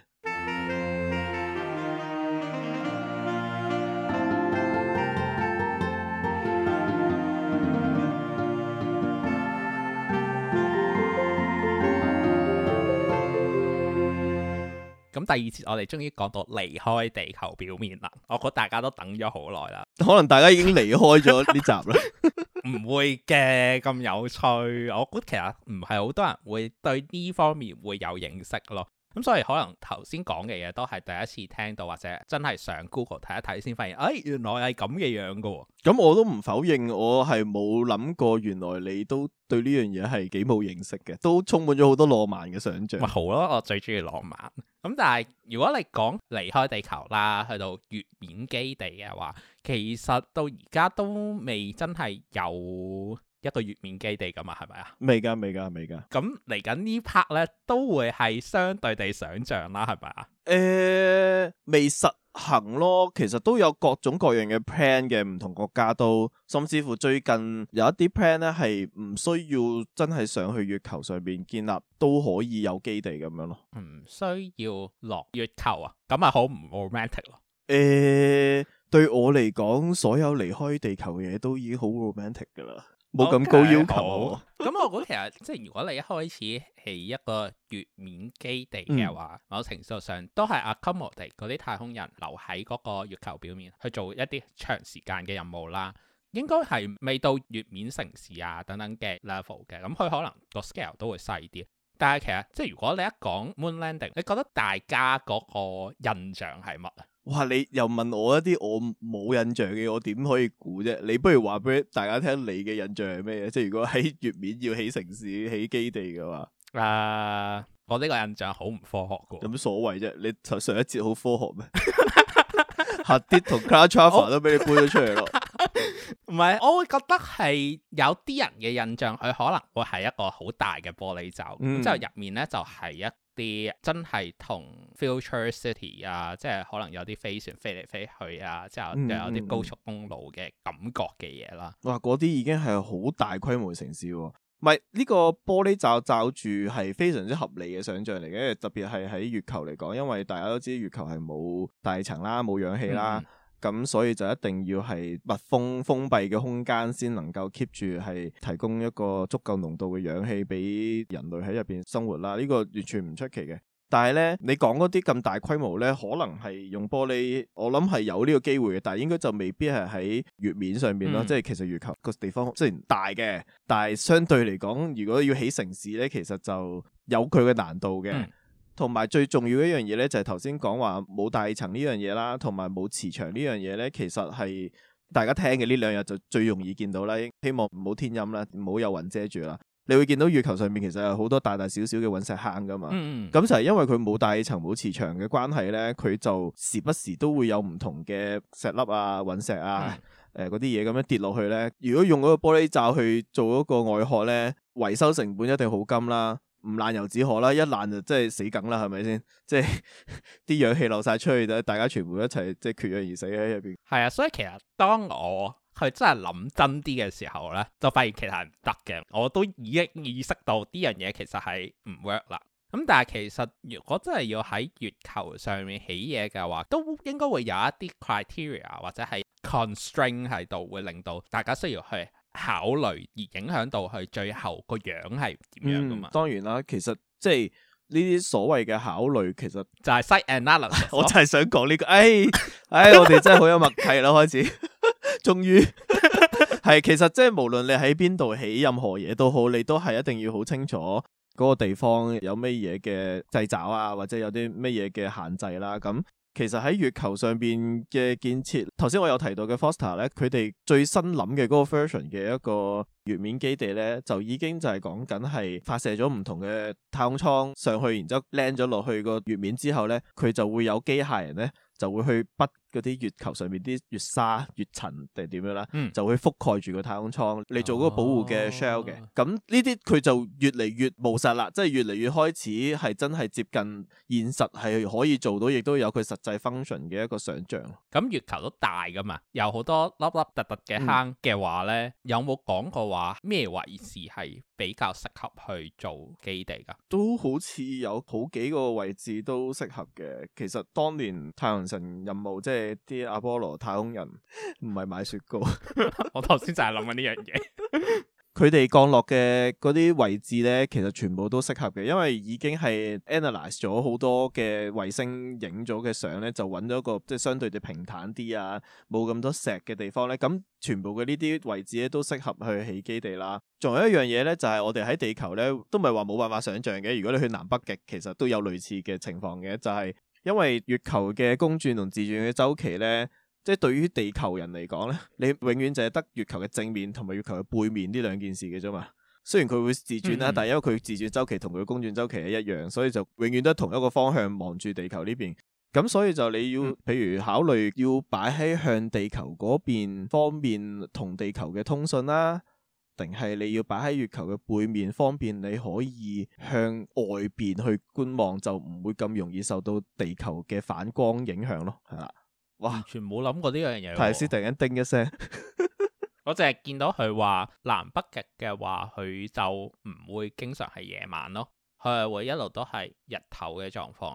[SPEAKER 1] 咁第二節我哋終於講到離開地球表面啦，我覺得大家都等咗好耐啦，
[SPEAKER 2] 可能大家已經離開咗呢集啦。
[SPEAKER 1] 唔會嘅，咁有趣，我估其實唔係好多人會對呢方面會有認識咯。咁所以可能頭先講嘅嘢都係第一次聽到，或者真係上 Google 睇一睇先發現，原來係咁嘅樣噶喎。
[SPEAKER 2] 咁我都唔否認，我係冇諗過，原來你都對呢樣嘢係幾冇認識嘅，都充滿咗好多浪漫嘅想像。
[SPEAKER 1] 咪好咯，我最中意浪漫。咁但係如果你講離開地球啦，去到月面基地嘅話，其實到而家都未真係有一個月面基地噶嘛，係咪啊？
[SPEAKER 2] 未㗎。
[SPEAKER 1] 咁嚟緊呢 part 咧，都會係相對地想像啦，係咪啊？
[SPEAKER 2] 未實行咯，其實都有各種各樣嘅 plan 嘅，唔同國家都，甚至乎最近有一啲 plan 咧係唔需要真係上去月球上邊建立，都可以有基地咁樣咯。
[SPEAKER 1] 唔需要落月球啊？咁咪好唔 romantic 咯？
[SPEAKER 2] 對我嚟講，所有離開地球嘅嘢都已經好 romantic 噶啦，冇咁高要求。
[SPEAKER 1] 咁我估其實即係如果你一開始起一個月面基地嘅話，某程度上都係 accommodate 嗰啲太空人留喺嗰個月球表面去做一啲長時間嘅任務啦。應該係未到月面城市啊等等嘅 level 嘅，咁佢可能個 scale 都會細啲。但係其實即係如果你一講 moon landing，你覺得大家嗰個印象係乜啊？
[SPEAKER 2] 哇！你又問我一啲我冇印象嘅，我點可以估啫？你不如話俾大家聽，你嘅印象係咩？即係如果喺月面要起城市、起基地嘅話，
[SPEAKER 1] 我呢個印象好唔科學㗎。
[SPEAKER 2] 有乜所謂啫？你上一節好科學咩？核啲同 Cloud Traveler 都俾你搬咗出嚟咯。
[SPEAKER 1] 唔係，我會覺得係有啲人嘅印象，佢可能會係一個好大嘅玻璃罩，之後入面咧就係一啲真係同 Future City 啊，即係可能有啲飛船飛嚟飛去啊，之後又有啲高速公路嘅感覺嘅嘢啦。
[SPEAKER 2] 哇！嗰啲已經係好大規模嘅城市喎。唔係呢個玻璃罩罩住係非常之合理嘅想像嚟嘅，特別係喺月球嚟講，因為大家都知月球係冇大氣層啦，冇氧氣啦。咁所以就一定要係密封封閉嘅空間先能夠 keep 住係提供一個足夠濃度嘅氧氣俾人類喺入邊生活啦。呢個完全唔出奇嘅。但係咧，你講嗰啲咁大規模咧，可能係用玻璃，我諗係有呢個機會嘅，但係應該就未必係喺月面上面咯。即係其實月球個地方雖然大嘅，但係相對嚟講，如果要起城市咧，其實就有佢嘅難度嘅。同埋最重要一樣嘢咧，就係頭先講話冇大氣層呢樣嘢啦，同埋冇磁場呢樣嘢咧，其實係大家聽嘅呢兩日就最容易見到啦。希望唔好天陰啦，唔好有雲遮住啦。你會見到月球上面其實有好多大大小小嘅隕石坑噶嘛。咁就係因為佢冇大氣層冇磁場嘅關係咧，佢就時不時都會有唔同嘅石粒啊、隕石啊、嗰啲嘢咁樣跌落去咧。如果用嗰個玻璃罩去做嗰個外殼咧，維修成本一定好金啦。唔爛油紙殼啦，一爛就真係死梗啦，係咪先？即係啲氧氣漏晒出去，大家全部一齊即係缺氧而死喺入邊。
[SPEAKER 1] 係啊，所以其實當我去真係諗真啲嘅時候咧，就發現其實係唔得嘅。我都已經意識到呢樣嘢其實係唔 work 啦。咁但係其實如果真係要喺月球上面起嘢嘅話，都應該會有一啲 criteria 或者係 constraint 喺度，會令到大家需要去考慮而影響到佢最後個樣係點樣噶嘛？
[SPEAKER 2] 當然啦，其實即係呢啲所謂嘅考慮，其實
[SPEAKER 1] 就係 site analysis。
[SPEAKER 2] 我就係想講呢個，我哋真係好有默契啦，開始，終於係其實即係無論你喺邊度起任何嘢都好，你都係一定要好清楚嗰個地方有咩嘢嘅掣肘啊，或者有啲咩嘢嘅限制啦，咁。其實喺月球上邊嘅建設，頭先我有提到嘅 Foster 咧，佢哋最新諗嘅嗰個 version 嘅一個月面基地咧，就已經就係講緊係發射咗唔同嘅太空艙上去，然之後 land 咗落去個月面之後咧，佢就會有機械人咧，就會去筆嗰啲月球上面啲月沙、月塵定點樣啦，就會覆蓋住個太空艙嚟做嗰個保護嘅 shell 嘅。咁呢啲佢就越嚟越務實啦，即係越嚟越開始係真係接近現實，係可以做到，亦都有佢實際 function 嘅一個想像。
[SPEAKER 1] 咁月球都大噶嘛，有好多凹凹凸凸嘅坑嘅話咧，有冇講過話咩位置係比較適合去做基地㗎？
[SPEAKER 2] 都好似有好幾個位置都適合嘅。其實當年太陽神任務即係啲阿波羅太空人唔係買雪糕，
[SPEAKER 1] 我頭先就係諗緊呢樣嘢。
[SPEAKER 2] 佢哋降落嘅嗰啲位置咧，其實全部都適合嘅，因為已經係 analyze 咗好多嘅衛星影咗嘅相咧，就揾咗個即係相對地平坦啲啊，冇咁多石嘅地方咧，咁全部嘅呢啲位置咧都適合去起基地啦。仲有一樣嘢咧，就係我哋喺地球咧都唔係話冇辦法想像嘅。如果你去南北極，其實都有類似嘅情況嘅，就係因為月球嘅公轉同自轉嘅週期咧。即係對於地球人嚟講咧，你永遠就係得月球嘅正面同埋月球嘅背面呢兩件事嘅啫嘛。雖然佢會自轉啦，但係因為佢自轉週期同佢公轉週期係一樣，所以就永遠都係同一個方向望住地球呢邊。咁所以就你要，譬如考慮要擺喺向地球嗰邊方便同地球嘅通訊啦，定係你要擺喺月球嘅背面方便你可以向外邊去觀望，就唔會咁容易受到地球嘅反光影響咯，係啦。哇！
[SPEAKER 1] 完全冇諗過呢樣嘢。
[SPEAKER 2] 泰斯突然間叮一聲，
[SPEAKER 1] 我淨係見到佢話南北極嘅話，佢就唔會經常係夜晚咯，佢係會一路都係日頭嘅狀況咯。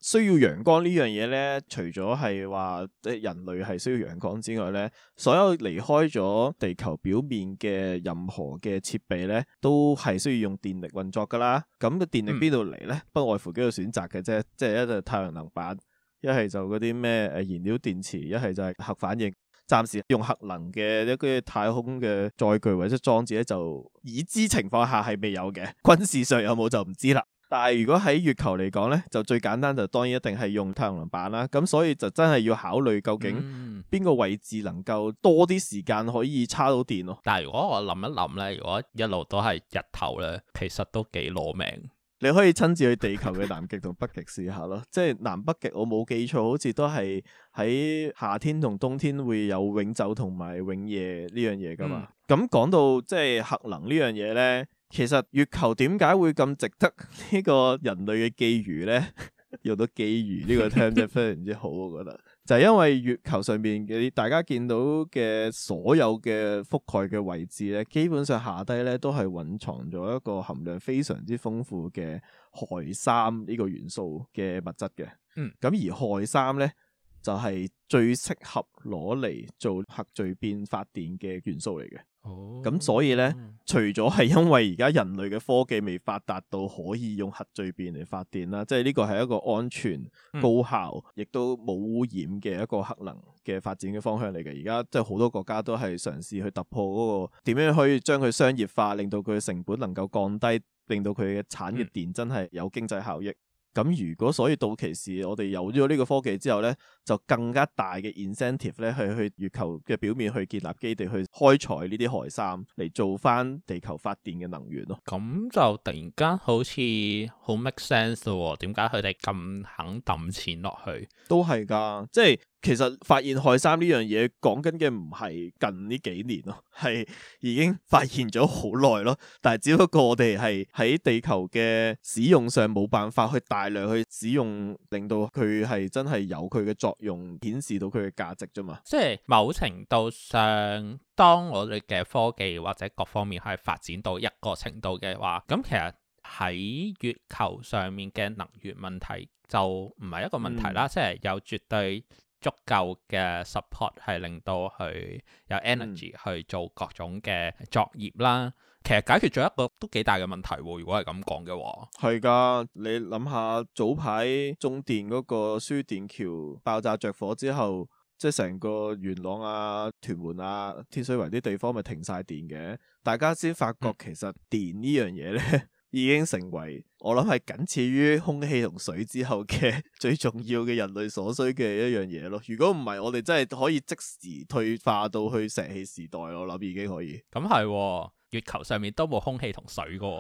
[SPEAKER 2] 需要陽光呢樣嘢咧，除咗係話人類係需要陽光之外咧，所有離開咗地球表面嘅任何嘅設備咧，都係需要用電力運作噶啦。咁個電力邊度嚟咧？不外乎幾個選擇嘅啫，即係一就太陽能板，一係就嗰啲咩燃料電池，一係就係核反應。暫時用核能嘅一個太空嘅載具或者裝置咧，就已知情況下係未有嘅。軍事上有冇就唔知啦。但係如果喺月球嚟講咧，就最簡單就當然一定係用太陽能板啦。咁所以就真係要考慮究竟邊個位置能夠多啲時間可以叉到電咯。
[SPEAKER 1] 但係如果我諗一諗咧，如果一路都係日頭咧，其實都幾攞命。
[SPEAKER 2] 你可以親自去地球嘅南極同北極試下咯，即係南北極我冇記錯，好似都係喺夏天同冬天會有永晝同埋永夜呢樣嘢噶嘛。咁講到即係核能呢樣嘢咧，其實月球點解會咁值得呢個人類嘅覬覦咧？用到覬覦呢個 term 真係非常之好，我覺得就係因為月球上面嘅大家見到嘅所有嘅覆蓋嘅位置咧，基本上下低咧都係蘊藏咗一個含量非常之豐富嘅氦三呢個元素嘅物質嘅。咁而氦三咧就係最適合攞嚟做核聚變發電嘅元素嚟嘅。咁所以咧，除咗係因為而家人類嘅科技未發達到可以用核聚變嚟發電啦，即係呢個係一個安全、高效，亦都冇污染嘅一個核能嘅發展嘅方向嚟嘅。而家即係好多國家都係嘗試去突破嗰個點樣可以將佢商業化，令到佢嘅成本能夠降低，令到佢嘅產嘅電真係有經濟效益。咁如果所以到期時我哋有咗呢個科技之後咧，就更加大嘅 incentive 咧，去月球嘅表面去建立基地，去開採呢啲氦三嚟做翻地球發電嘅能源咯。
[SPEAKER 1] 咁就突然間好似好 make sense 咯，點解佢哋咁肯抌錢落去？
[SPEAKER 2] 都係㗎，即係其實發現氦三呢樣嘢講緊嘅唔係近呢幾年咯，係已經發現咗好耐咯。但係只不過我哋係喺地球嘅使用上冇辦法去大量去使用，令到佢係真係有佢嘅作用，顯示到佢嘅價值啫嘛。
[SPEAKER 1] 即係某程度上，當我哋嘅科技或者各方面係發展到一個程度嘅話，咁其實喺月球上面嘅能源問題就唔係一個問題啦。即係有絕對足夠嘅 support 係令到佢有 energy 去做各種嘅作業啦。其實解決咗一個都幾大嘅問題喎。如果係咁講嘅話，係
[SPEAKER 2] 㗎。你諗下早排中電嗰個輸電橋爆炸着火之後，即係成個元朗啊、屯門啊、天水圍啲地方咪停晒電嘅。大家先發覺其實電呢樣嘢咧，已經成為我諗係僅次於空氣同水之後嘅最重要嘅人類所需嘅一樣嘢咯。如果唔係，我哋真係可以即時退化到去石器時代，我諗已經可以。
[SPEAKER 1] 咁係，月球上面都冇空氣同水噶。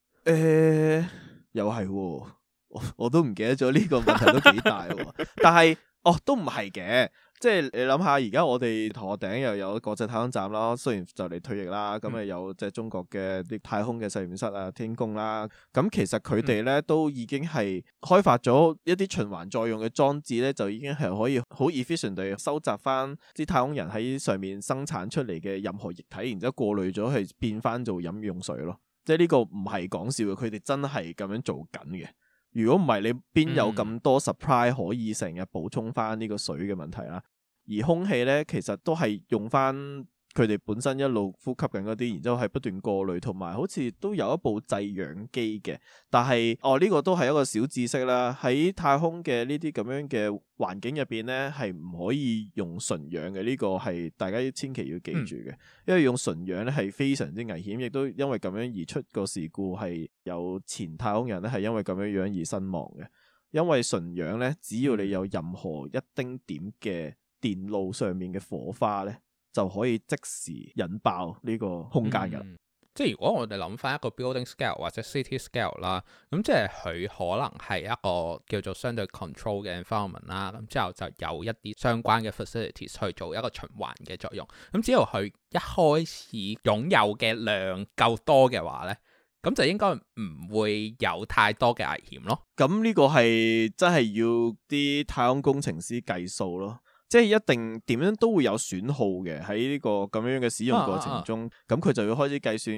[SPEAKER 2] 又係，我都唔記得咗呢個問題都幾大。但係都唔係嘅。即係你諗下，而家我哋頭殼頂又有國際太空站啦，雖然就嚟退役啦，咁啊有即係中國嘅啲太空嘅實驗室啊、天宮啦，咁其實佢哋咧都已經係開發咗一啲循環再用嘅裝置咧，就已經係可以好 efficient 地收集翻啲太空人喺上面生產出嚟嘅任何液體，然之後過濾咗去變翻做飲用水咯。即係呢個唔係講笑嘅，佢哋真係咁樣做緊嘅。如果唔係，你邊有咁多 supply 可以成日補充翻呢個水嘅問題啦？而空氣咧，其實都係用翻佢哋本身一路呼吸緊嗰啲，然之後係不斷過濾，同埋好似都有一部製氧機嘅。但係呢個都係一個小知識啦。喺太空嘅呢啲咁樣嘅環境入邊咧，係唔可以用純氧嘅。呢個係大家千祈要記住嘅，因為用純氧咧係非常之危險，亦都因為咁樣而出個事故，係有前太空人咧係因為咁樣而身亡嘅。因為純氧咧，只要你有任何一丁點嘅電路上面嘅火花咧，就可以即時引爆呢個空間㗎。
[SPEAKER 1] 即係如果我哋諗翻一個 building scale 或者 city scale 啦，咁即係佢可能係一個叫做相對 control 嘅 environment 啦，咁之後就有一啲相關嘅 facilities 去做一個循環嘅作用。咁只要佢一開始擁有嘅量夠多嘅話咧，咁就應該唔會有太多嘅危險咯。
[SPEAKER 2] 咁呢個係真係要啲太空工程師計數咯。即係一定點樣都會有損耗嘅，喺呢個咁樣嘅使用過程中，咁佢就要開始計算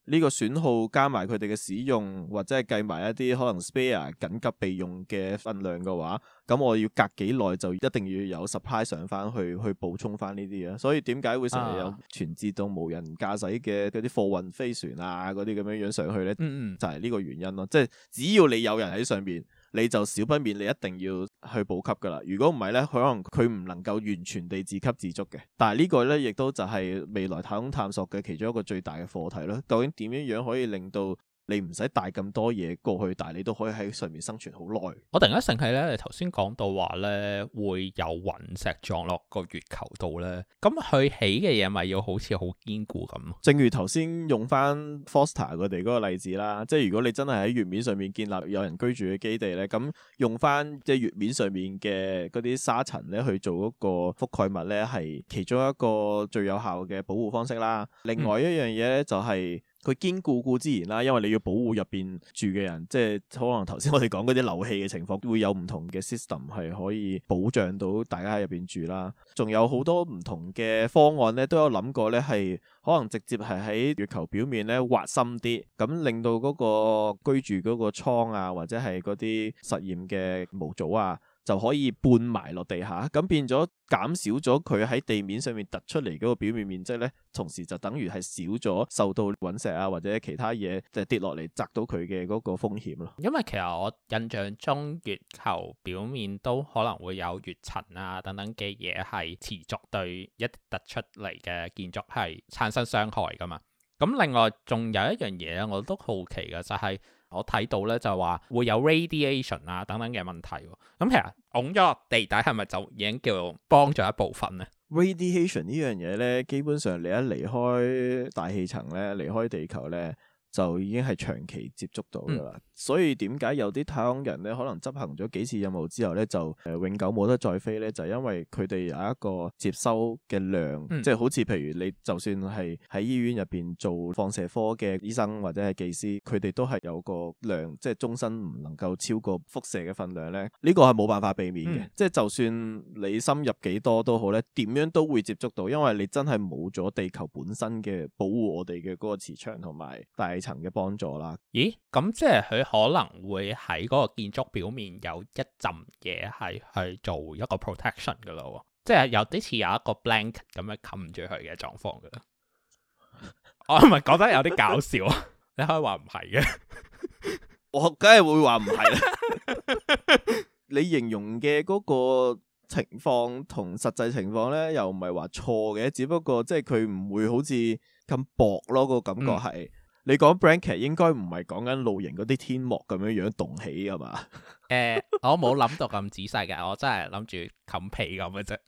[SPEAKER 2] 呢個損耗加埋佢哋嘅使用，或者係計埋一啲可能 spare 緊急備用嘅分量嘅話，咁我要隔幾耐就一定要有 supply 上翻去補充翻呢啲啊。所以點解會成日有全自動無人駕駛嘅嗰啲貨運飛船啊嗰啲咁樣上去呢？就係呢個原因咯。即係只要你有人喺上邊，你就少不免你一定要去補給噶啦。如果唔係呢，佢可能佢唔能夠完全地自給自足嘅。但係呢個呢，亦都就係未來太空探索嘅其中一個最大嘅課題咯。究竟點樣樣可以令到你唔使帶咁多嘢過去，但係你都可以喺上面生存好耐。
[SPEAKER 1] 我突然間醒起咧，你頭先講到話咧會有隕石撞落個月球度咧，咁佢起嘅嘢咪要好似好堅固咁？
[SPEAKER 2] 正如頭先用翻 Foster 佢哋嗰個例子啦，即係如果你真係喺月面上面建立有人居住嘅基地咧，咁用翻即係月面上面嘅嗰啲沙塵咧去做嗰個覆蓋物咧，係其中一個最有效嘅保護方式啦。另外一樣嘢咧就係佢堅固固之然啦，因為你要保護入邊住嘅人，即係可能頭先我哋講嗰啲漏氣嘅情況，會有唔同嘅 system 係可以保障到大家喺入邊住啦。仲有好多唔同嘅方案咧，都有諗過咧，係可能直接係喺月球表面咧挖深啲，咁令到嗰個居住嗰個艙啊，或者係嗰啲實驗嘅模組啊，就可以半埋落地下，咁變咗減少咗佢喺地面上面突出嚟嗰個表面面積咧，同時就等於係少咗受到隕石啊或者其他嘢即係跌落嚟砸到佢嘅嗰個風險咯。
[SPEAKER 1] 因為其實我印象中月球表面都可能會有月塵啊等等嘅嘢係持續對一突出嚟嘅建築係產生傷害噶嘛。咁另外仲有一樣嘢咧，我都好奇嘅就係我睇到咧就話會有 radiation 啊等等嘅問題喎。咁其實拱咗落地底係咪就已經叫幫咗一部分咧
[SPEAKER 2] ？Radiation 呢樣嘢咧，基本上你一離開大氣層咧，離開地球咧，就已經係長期接觸到噶啦。所以點解有啲太空人咧，可能執行咗幾次任務之後咧，就永久冇得再飛咧？就因為佢哋有一個接收嘅量，即係好似譬如你就算係喺醫院入邊做放射科嘅醫生或者係技師，佢哋都係有個量，即係終身唔能夠超過輻射嘅分量咧。呢個係冇辦法避免嘅，即係就算你深入幾多都好咧，點樣都會接觸到，因為你真係冇咗地球本身嘅保護我哋嘅嗰個磁場同埋大氣層嘅幫助啦。
[SPEAKER 1] 咦？咁即係佢可能會喺嗰個建築表面有一陣嘢係去做一個 protection 噶咯，即係有啲似有一個 blanket 咁樣冚住佢嘅狀況噶啦。我係咪覺得有啲搞笑啊？你可以話唔係嘅，
[SPEAKER 2] 我梗係會話唔係啦。你形容嘅嗰個情況同實際情況咧，又唔係話錯嘅，只不過即係佢唔會好似咁薄咯，個感覺係。你講 blanket 應該唔係講緊露營嗰啲天幕咁樣樣動起㗎嘛？
[SPEAKER 1] 我冇諗到咁仔細嘅，我真係諗住冚被咁嘅啫。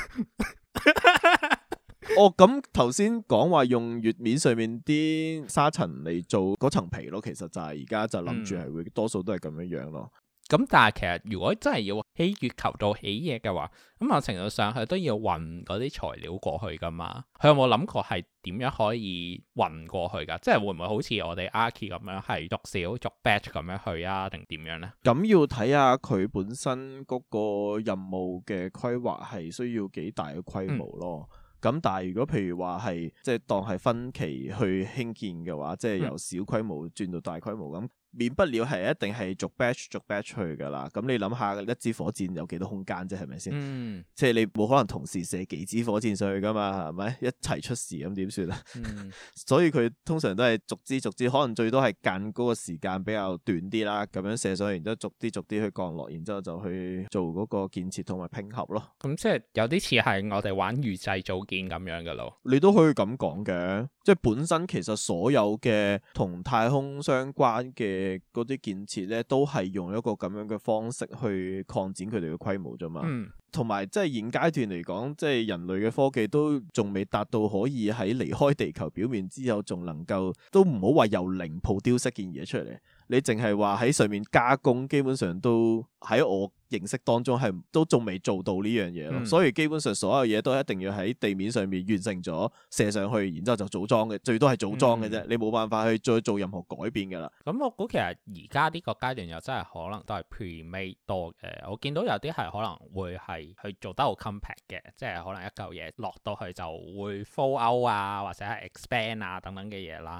[SPEAKER 2] 哦，咁頭先講話用月面上面啲沙塵嚟做嗰層皮咯，其實就係而家就諗住係會多數都係咁樣樣咯。
[SPEAKER 1] 咁但係其實如果真係要喺月球度起嘢嘅話，咁某程度上佢都要運嗰啲材料過去噶嘛。佢有冇諗過係點樣可以運過去噶？即係會唔會好似我哋 Archi 咁樣係逐少逐 batch 咁樣去啊？定點樣呢？
[SPEAKER 2] 咁要睇下佢本身嗰個任務嘅規劃係需要幾大嘅規模咯。咁但係如果譬如話係即係當係分期去興建嘅話，即係由小規模轉到大規模咁。免不了係一定係逐 batch 去噶啦，咁你諗下一支火箭有幾多空間啫，係咪先？即係你冇可能同時射幾支火箭上去噶嘛，係咪？一齊出事咁點算啊？所以佢通常都係逐支，可能最多係間嗰個時間比較短啲啦，咁樣射上去，然之後逐啲去降落，然之後就去做嗰個建設同埋拼合咯。咁
[SPEAKER 1] 即係有啲似係我哋玩預製組件咁樣噶咯。
[SPEAKER 2] 你都可以咁講嘅，即係本身其實所有嘅同太空相關嘅嗰啲建設咧，都係用一個咁樣嘅方式去擴展佢哋嘅規模啫嘛。同埋即係現階段嚟講，即係人類嘅科技都仲未達到可以喺離開地球表面之後，仲能夠都唔好話由零鋪雕飾件嘢出嚟。你淨係話喺上面加工，基本上都喺我認識當中係都仲未做到呢樣嘢咯。所以基本上所有嘢都一定要喺地面上面完成咗射上去，然之後就組裝嘅，最多係組裝嘅啫。你冇辦法去再做任何改變噶啦。咁
[SPEAKER 1] 我估其實而家呢個階段又真係可能都係 pre-made 多嘅。我見到有啲係可能會係去做得好 compact 嘅，即係可能一嚿嘢落到去就會 fall out 啊，或者係 expand 啊等等嘅嘢啦。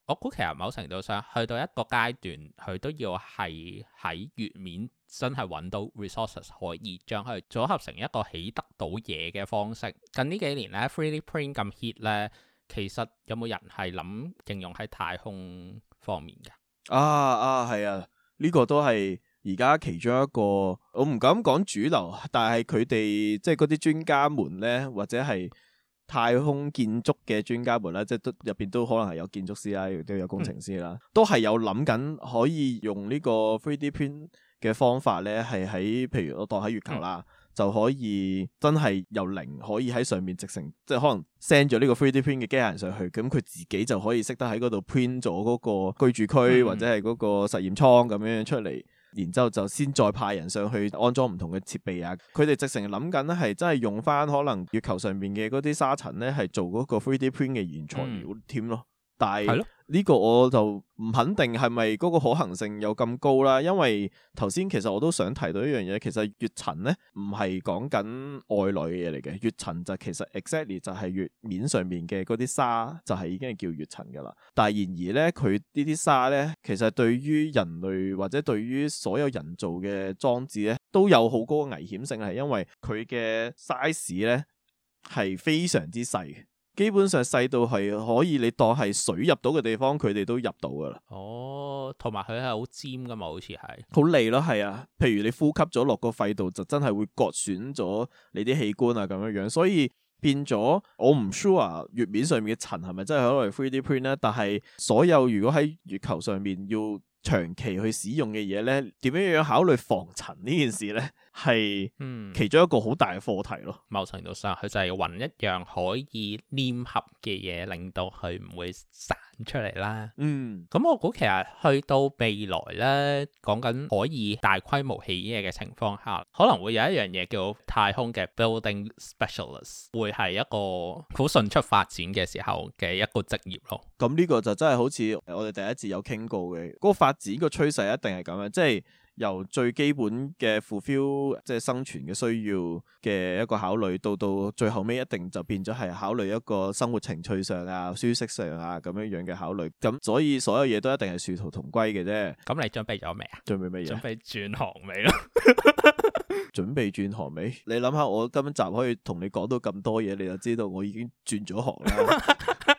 [SPEAKER 1] 我估其實某程度上去到一個階段，佢都要係喺月面真係揾到 resources 可以將佢組合成一個起得到嘢嘅方式。近呢幾年咧 3D print 咁 hit 咧，其實有冇人係諗應用喺太空方面嘅？
[SPEAKER 2] 係啊，呢個都係而家其中一個，我唔敢講主流，但係佢哋即係嗰啲專家們咧，或者係太空建築嘅專家們啦，即係都入邊都可能係有建築師啦，亦都有工程師啦，都係有諗緊可以用呢個 3D print 嘅方法咧，係喺譬如我當喺月球啦，就可以真係由零可以喺上面直成，即係可能 send 咗呢個 3D print 嘅機械人上去，咁佢自己就可以識得喺嗰度 print 咗嗰個居住區或者係嗰個實驗艙咁樣出嚟。然之後就先再派人上去安裝唔同嘅設備啊！佢哋直成諗緊咧，係真係用翻可能月球上面嘅嗰啲沙塵咧，係做嗰個 3D print 嘅原材料添咯。但係呢個我就唔肯定係咪嗰個可行性有咁高啦。因為頭先其實我都想提到一樣嘢，其實月塵咧唔係講緊外來嘅嘢嚟嘅，月塵就其實 exactly 就係月面上面嘅嗰啲沙就係已經係叫月塵噶啦。但係然而咧，佢呢啲沙咧，其實對於人類或者對於所有人造嘅裝置咧，都有好高嘅危險性，係因為佢嘅 size 咧係非常之細。基本上細到係可以你當係水入到嘅地方，佢哋都入到噶啦。
[SPEAKER 1] 哦，同埋佢係好尖噶嘛，好似係
[SPEAKER 2] 好利咯，係啊。譬如你呼吸咗落個肺度，就真係會割損咗你啲器官啊，咁樣樣。所以變咗，我唔 sure 月面上面嘅塵係咪真係可以 3D print 咧？但係所有如果喺月球上面要長期去使用嘅嘢咧，點樣樣考慮防塵呢件事咧，係其中一個好大嘅課題咯。
[SPEAKER 1] 某程度上，佢就係揾一樣可以黏合嘅嘢，令到佢唔會散出嚟啦。咁我估其實去到未來咧，講緊可以大規模起嘢嘅情況下，可能會有一樣嘢叫太空嘅 building specialist， 會係一個好迅速發展嘅時候嘅一個職業咯。
[SPEAKER 2] 咁呢個就真係好似我哋第一節有傾過嘅，嗰個發展個趨勢一定係咁樣，即係由最基本嘅 fulfill 即係生存嘅需要嘅一個考慮，到最後尾一定就變咗係考慮一個生活情趣上啊、舒適上啊咁樣嘅考慮。咁所以所有嘢都一定係殊途同歸嘅啫。
[SPEAKER 1] 咁你準備咗未啊？準備乜嘢？準備轉行未咯？
[SPEAKER 2] 準備轉行未？你諗下，我今集可以同你講到咁多嘢，你就知道我已經轉咗行啦。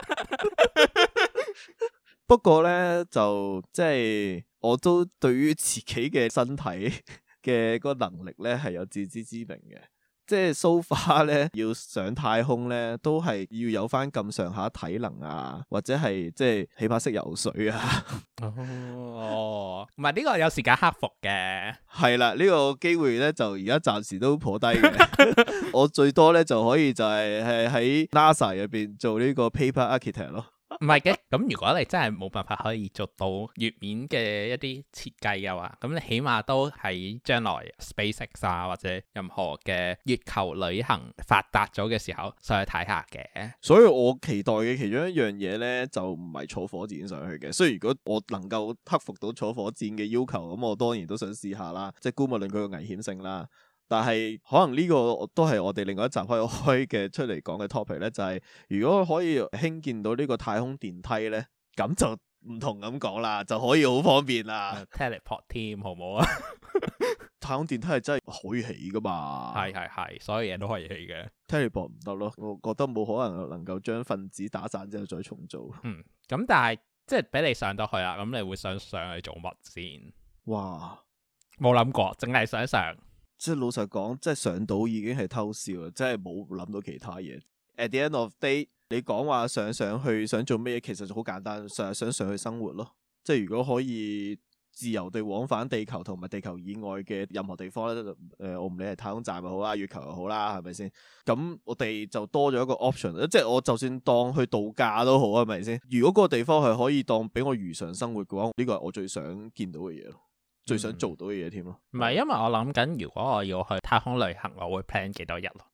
[SPEAKER 2] 不過咧，就即係我都對於自己嘅身體嘅嗰個能力咧係有自知之明嘅。即係 so far 咧，要上太空咧，都係要有翻咁上下體能啊，或者係即係起碼識游水啊。
[SPEAKER 1] 唔係呢個有時間克服嘅。係
[SPEAKER 2] 啦，呢個機會咧就而家暫時都頗低嘅。我最多咧就可以就係喺 NASA 入邊做呢個 paper architect 咯。
[SPEAKER 1] 唔係嘅，咁如果你真係冇辦法可以做到月面嘅一啲設計嘅話，咁你起碼都喺將來 SpaceX 啊或者任何嘅月球旅行發達咗嘅時候上去睇下嘅。
[SPEAKER 2] 所以我期待嘅其中一樣嘢咧，就唔係坐火箭上去嘅。所以如果我能夠克服到坐火箭嘅要求，咁我當然都想試下啦。即係姑勿論佢個危險性啦。但係可能呢個都係我哋另外一集可以開嘅出嚟講嘅 topic 咧，就係如果可以興建到呢個太空電梯咧，咁就唔同咁講啦，就可以好方便啦。
[SPEAKER 1] Teleport team 好唔好啊？
[SPEAKER 2] 太空電梯係真係可以起噶嘛？
[SPEAKER 1] 係，所有嘢都可以起嘅。
[SPEAKER 2] Teleport 唔得咯，我覺得冇可能夠將分子打散之後再重做。
[SPEAKER 1] 咁但係即係俾你上到去啦，咁你會想上去做乜先？
[SPEAKER 2] 哇，
[SPEAKER 1] 冇諗過，淨係想上。
[SPEAKER 2] 即係老實講，即係上到已經係偷笑啦，真係冇諗到其他嘢。At the end of day，你講話上去想做咩嘢，其實就好簡單，想上去生活咯。即係如果可以自由地往返地球同埋地球以外嘅任何地方咧，我唔理係太空站又好啦，月球又好啦，係咪先？咁我哋就多咗一個 option， 即係我就算當去度假都好，係咪先？如果嗰個地方係可以當俾我如常生活嘅話，呢個係我最想見到嘅嘢咯。最想做到嘅嘢添咯，
[SPEAKER 1] 唔係因為我諗緊，如果我要去太空旅行，我會 plan 幾多日咯。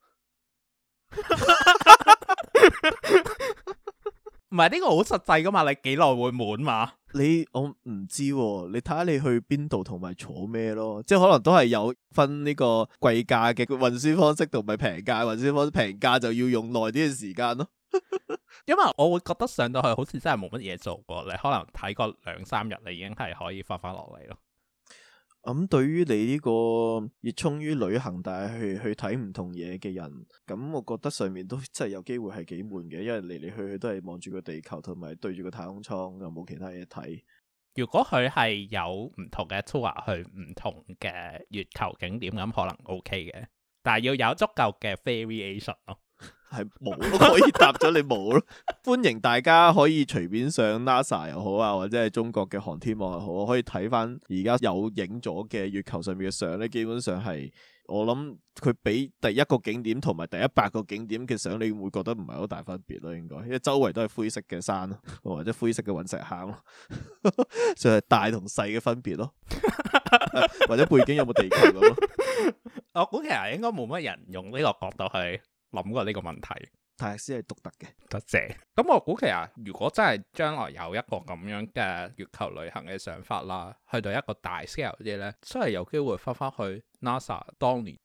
[SPEAKER 1] 唔係呢個好實際噶嘛？你幾耐會滿嘛？
[SPEAKER 2] 我唔知喎，你睇下你去邊度同埋坐咩咯，即係可能都係有分呢個貴價嘅運輸方式同埋平價運輸方式，平價就要用耐啲嘅時間咯。
[SPEAKER 1] 因為我會覺得上到去好似真係冇乜嘢做過，你可能睇個2-3日，你已經係可以翻落嚟咯。
[SPEAKER 2] 咁對於你呢個熱衷於旅行但係去睇唔同嘢嘅人，咁我覺得上面都真係有機會係幾悶嘅，因為嚟嚟去去都係望住個地球同埋對住個太空艙，又冇其他嘢睇。
[SPEAKER 1] 如果佢係有唔同嘅 tour 去唔同嘅月球景點，咁可能 OK 嘅，但係要有足夠嘅 variation 咯。
[SPEAKER 2] 係冇咯，可以答咗你冇咯。歡迎大家可以隨便上 NASA 又好啊，或者係中國嘅航天網又好，可以睇翻而家有影咗嘅月球上面嘅相咧。基本上係我諗佢比第一個景點同埋第100個景點嘅相，你會覺得唔係好大分別咯。應該因為周圍都係灰色嘅山咯，或者灰色嘅隕石坑咯，就係大同細嘅分別咯。或者背景有冇地球咁咯？
[SPEAKER 1] 我估其實應該冇乜人用呢個角度去諗過呢個問題。
[SPEAKER 2] 泰勒斯係獨特嘅，
[SPEAKER 1] 多謝。咁我估其實如果真係將來有一個咁樣嘅月球旅行嘅想法啦，去到一個大 scale 啲呢，真係有機會翻返去 NASA 當年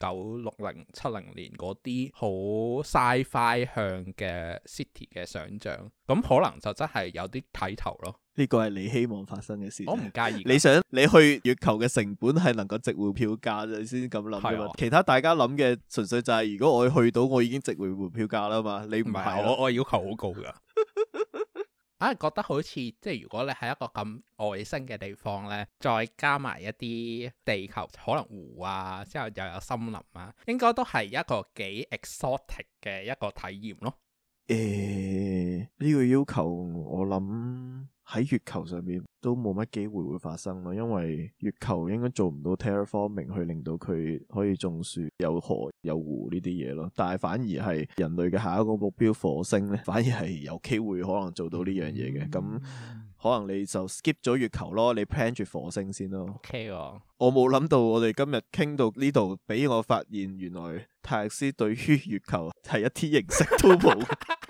[SPEAKER 1] 1960-70年嗰啲好 sci-fi 向嘅 city 嘅想像，咁可能就真係有啲睇頭咯。
[SPEAKER 2] 呢個係你希望發生嘅事。
[SPEAKER 1] 我唔介意。
[SPEAKER 2] 你想你去月球嘅成本係能夠值回票價，你先咁諗啫嘛。其他大家諗嘅純粹就係如果我去到，我已經值回票價啦嘛。你唔係，
[SPEAKER 1] 我要求好高噶。啊，覺得好似即係如果你喺一個咁外星嘅地方呢，再加埋一啲地球可能湖啊，之後又有森林啊，應該都係一個幾 exotic 嘅一個體驗咯。
[SPEAKER 2] 呢個要求我諗喺月球上面都冇乜機會會發生咯，因為月球應該做唔到 terraforming 去令到佢可以種樹、有河、有湖呢啲嘢咯。但係反而係人類嘅下一個目標火星呢，反而係有機會可能做到呢樣嘢嘅。咁可能你就 skip 咗月球咯，你 plan 住火星先咯。
[SPEAKER 1] OK 喎，
[SPEAKER 2] 我冇諗到我哋今日傾到呢度，俾我發現原來泰勒斯對於月球係一啲認識都冇。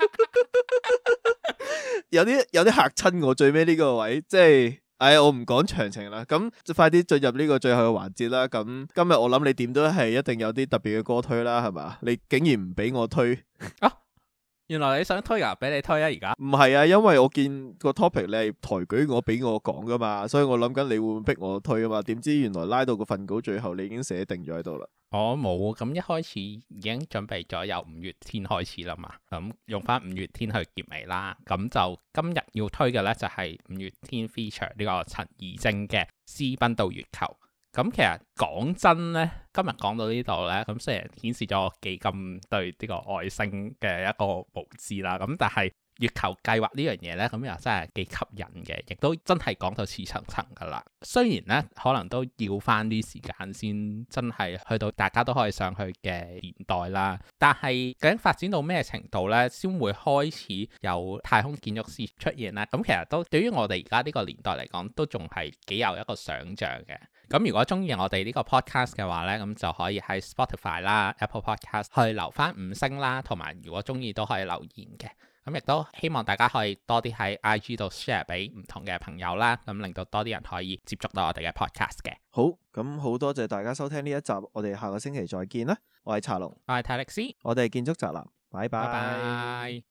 [SPEAKER 2] 有啲嚇親我，最尾呢個位，即係，我唔講詳情啦。咁就快啲進入呢個最後嘅環節啦。咁今日我諗你點都係一定有啲特別嘅歌推啦，係嘛？你竟然唔俾我推
[SPEAKER 1] 啊？原來你想推啊？俾你推啊！而家
[SPEAKER 2] 唔係啊，因為我見個 topic 你係抬舉我俾我講噶嘛，所以我諗緊你會唔會逼我推啊嘛？點知原來拉到個份稿最後你已經寫定咗喺度啦。我
[SPEAKER 1] 冇，咁一開始已經準備咗由5月天開始啦嘛，咁用翻5月天去結尾啦。咁就今日要推嘅呢，就係5月天 feature 呢個陳綺貞嘅《私奔到月球》。咁其實講真呢，今日講到呢度呢，咁雖然顯示咗我幾咁對呢個外星嘅一個無知啦，咁但係月球計劃呢樣嘢呢，咁又真係幾吸引嘅，亦都真係講到似層層噶啦。雖然呢，可能都要翻啲時間先真係去到大家都可以上去嘅年代啦，但係究竟發展到咩程度呢，先會開始有太空建築師出現呢？咁其實都對於我哋而家呢個年代嚟講，都仲係幾有一個想像嘅。咁如果中意我哋呢個 podcast 嘅話呢，咁就可以喺 Spotify 啦、Apple Podcast 去留翻5星啦，同埋如果中意都可以留言嘅。咁亦都希望大家可以多啲喺 IG 度 share 俾唔同嘅朋友啦，咁令到多啲人可以接觸到我哋嘅 podcast 嘅。好，咁好多謝大家收聽呢一集，我哋下個星期再見啦。我係茶龍， 我係泰力斯，
[SPEAKER 2] 我哋係建築宅男，拜拜。
[SPEAKER 1] 拜拜。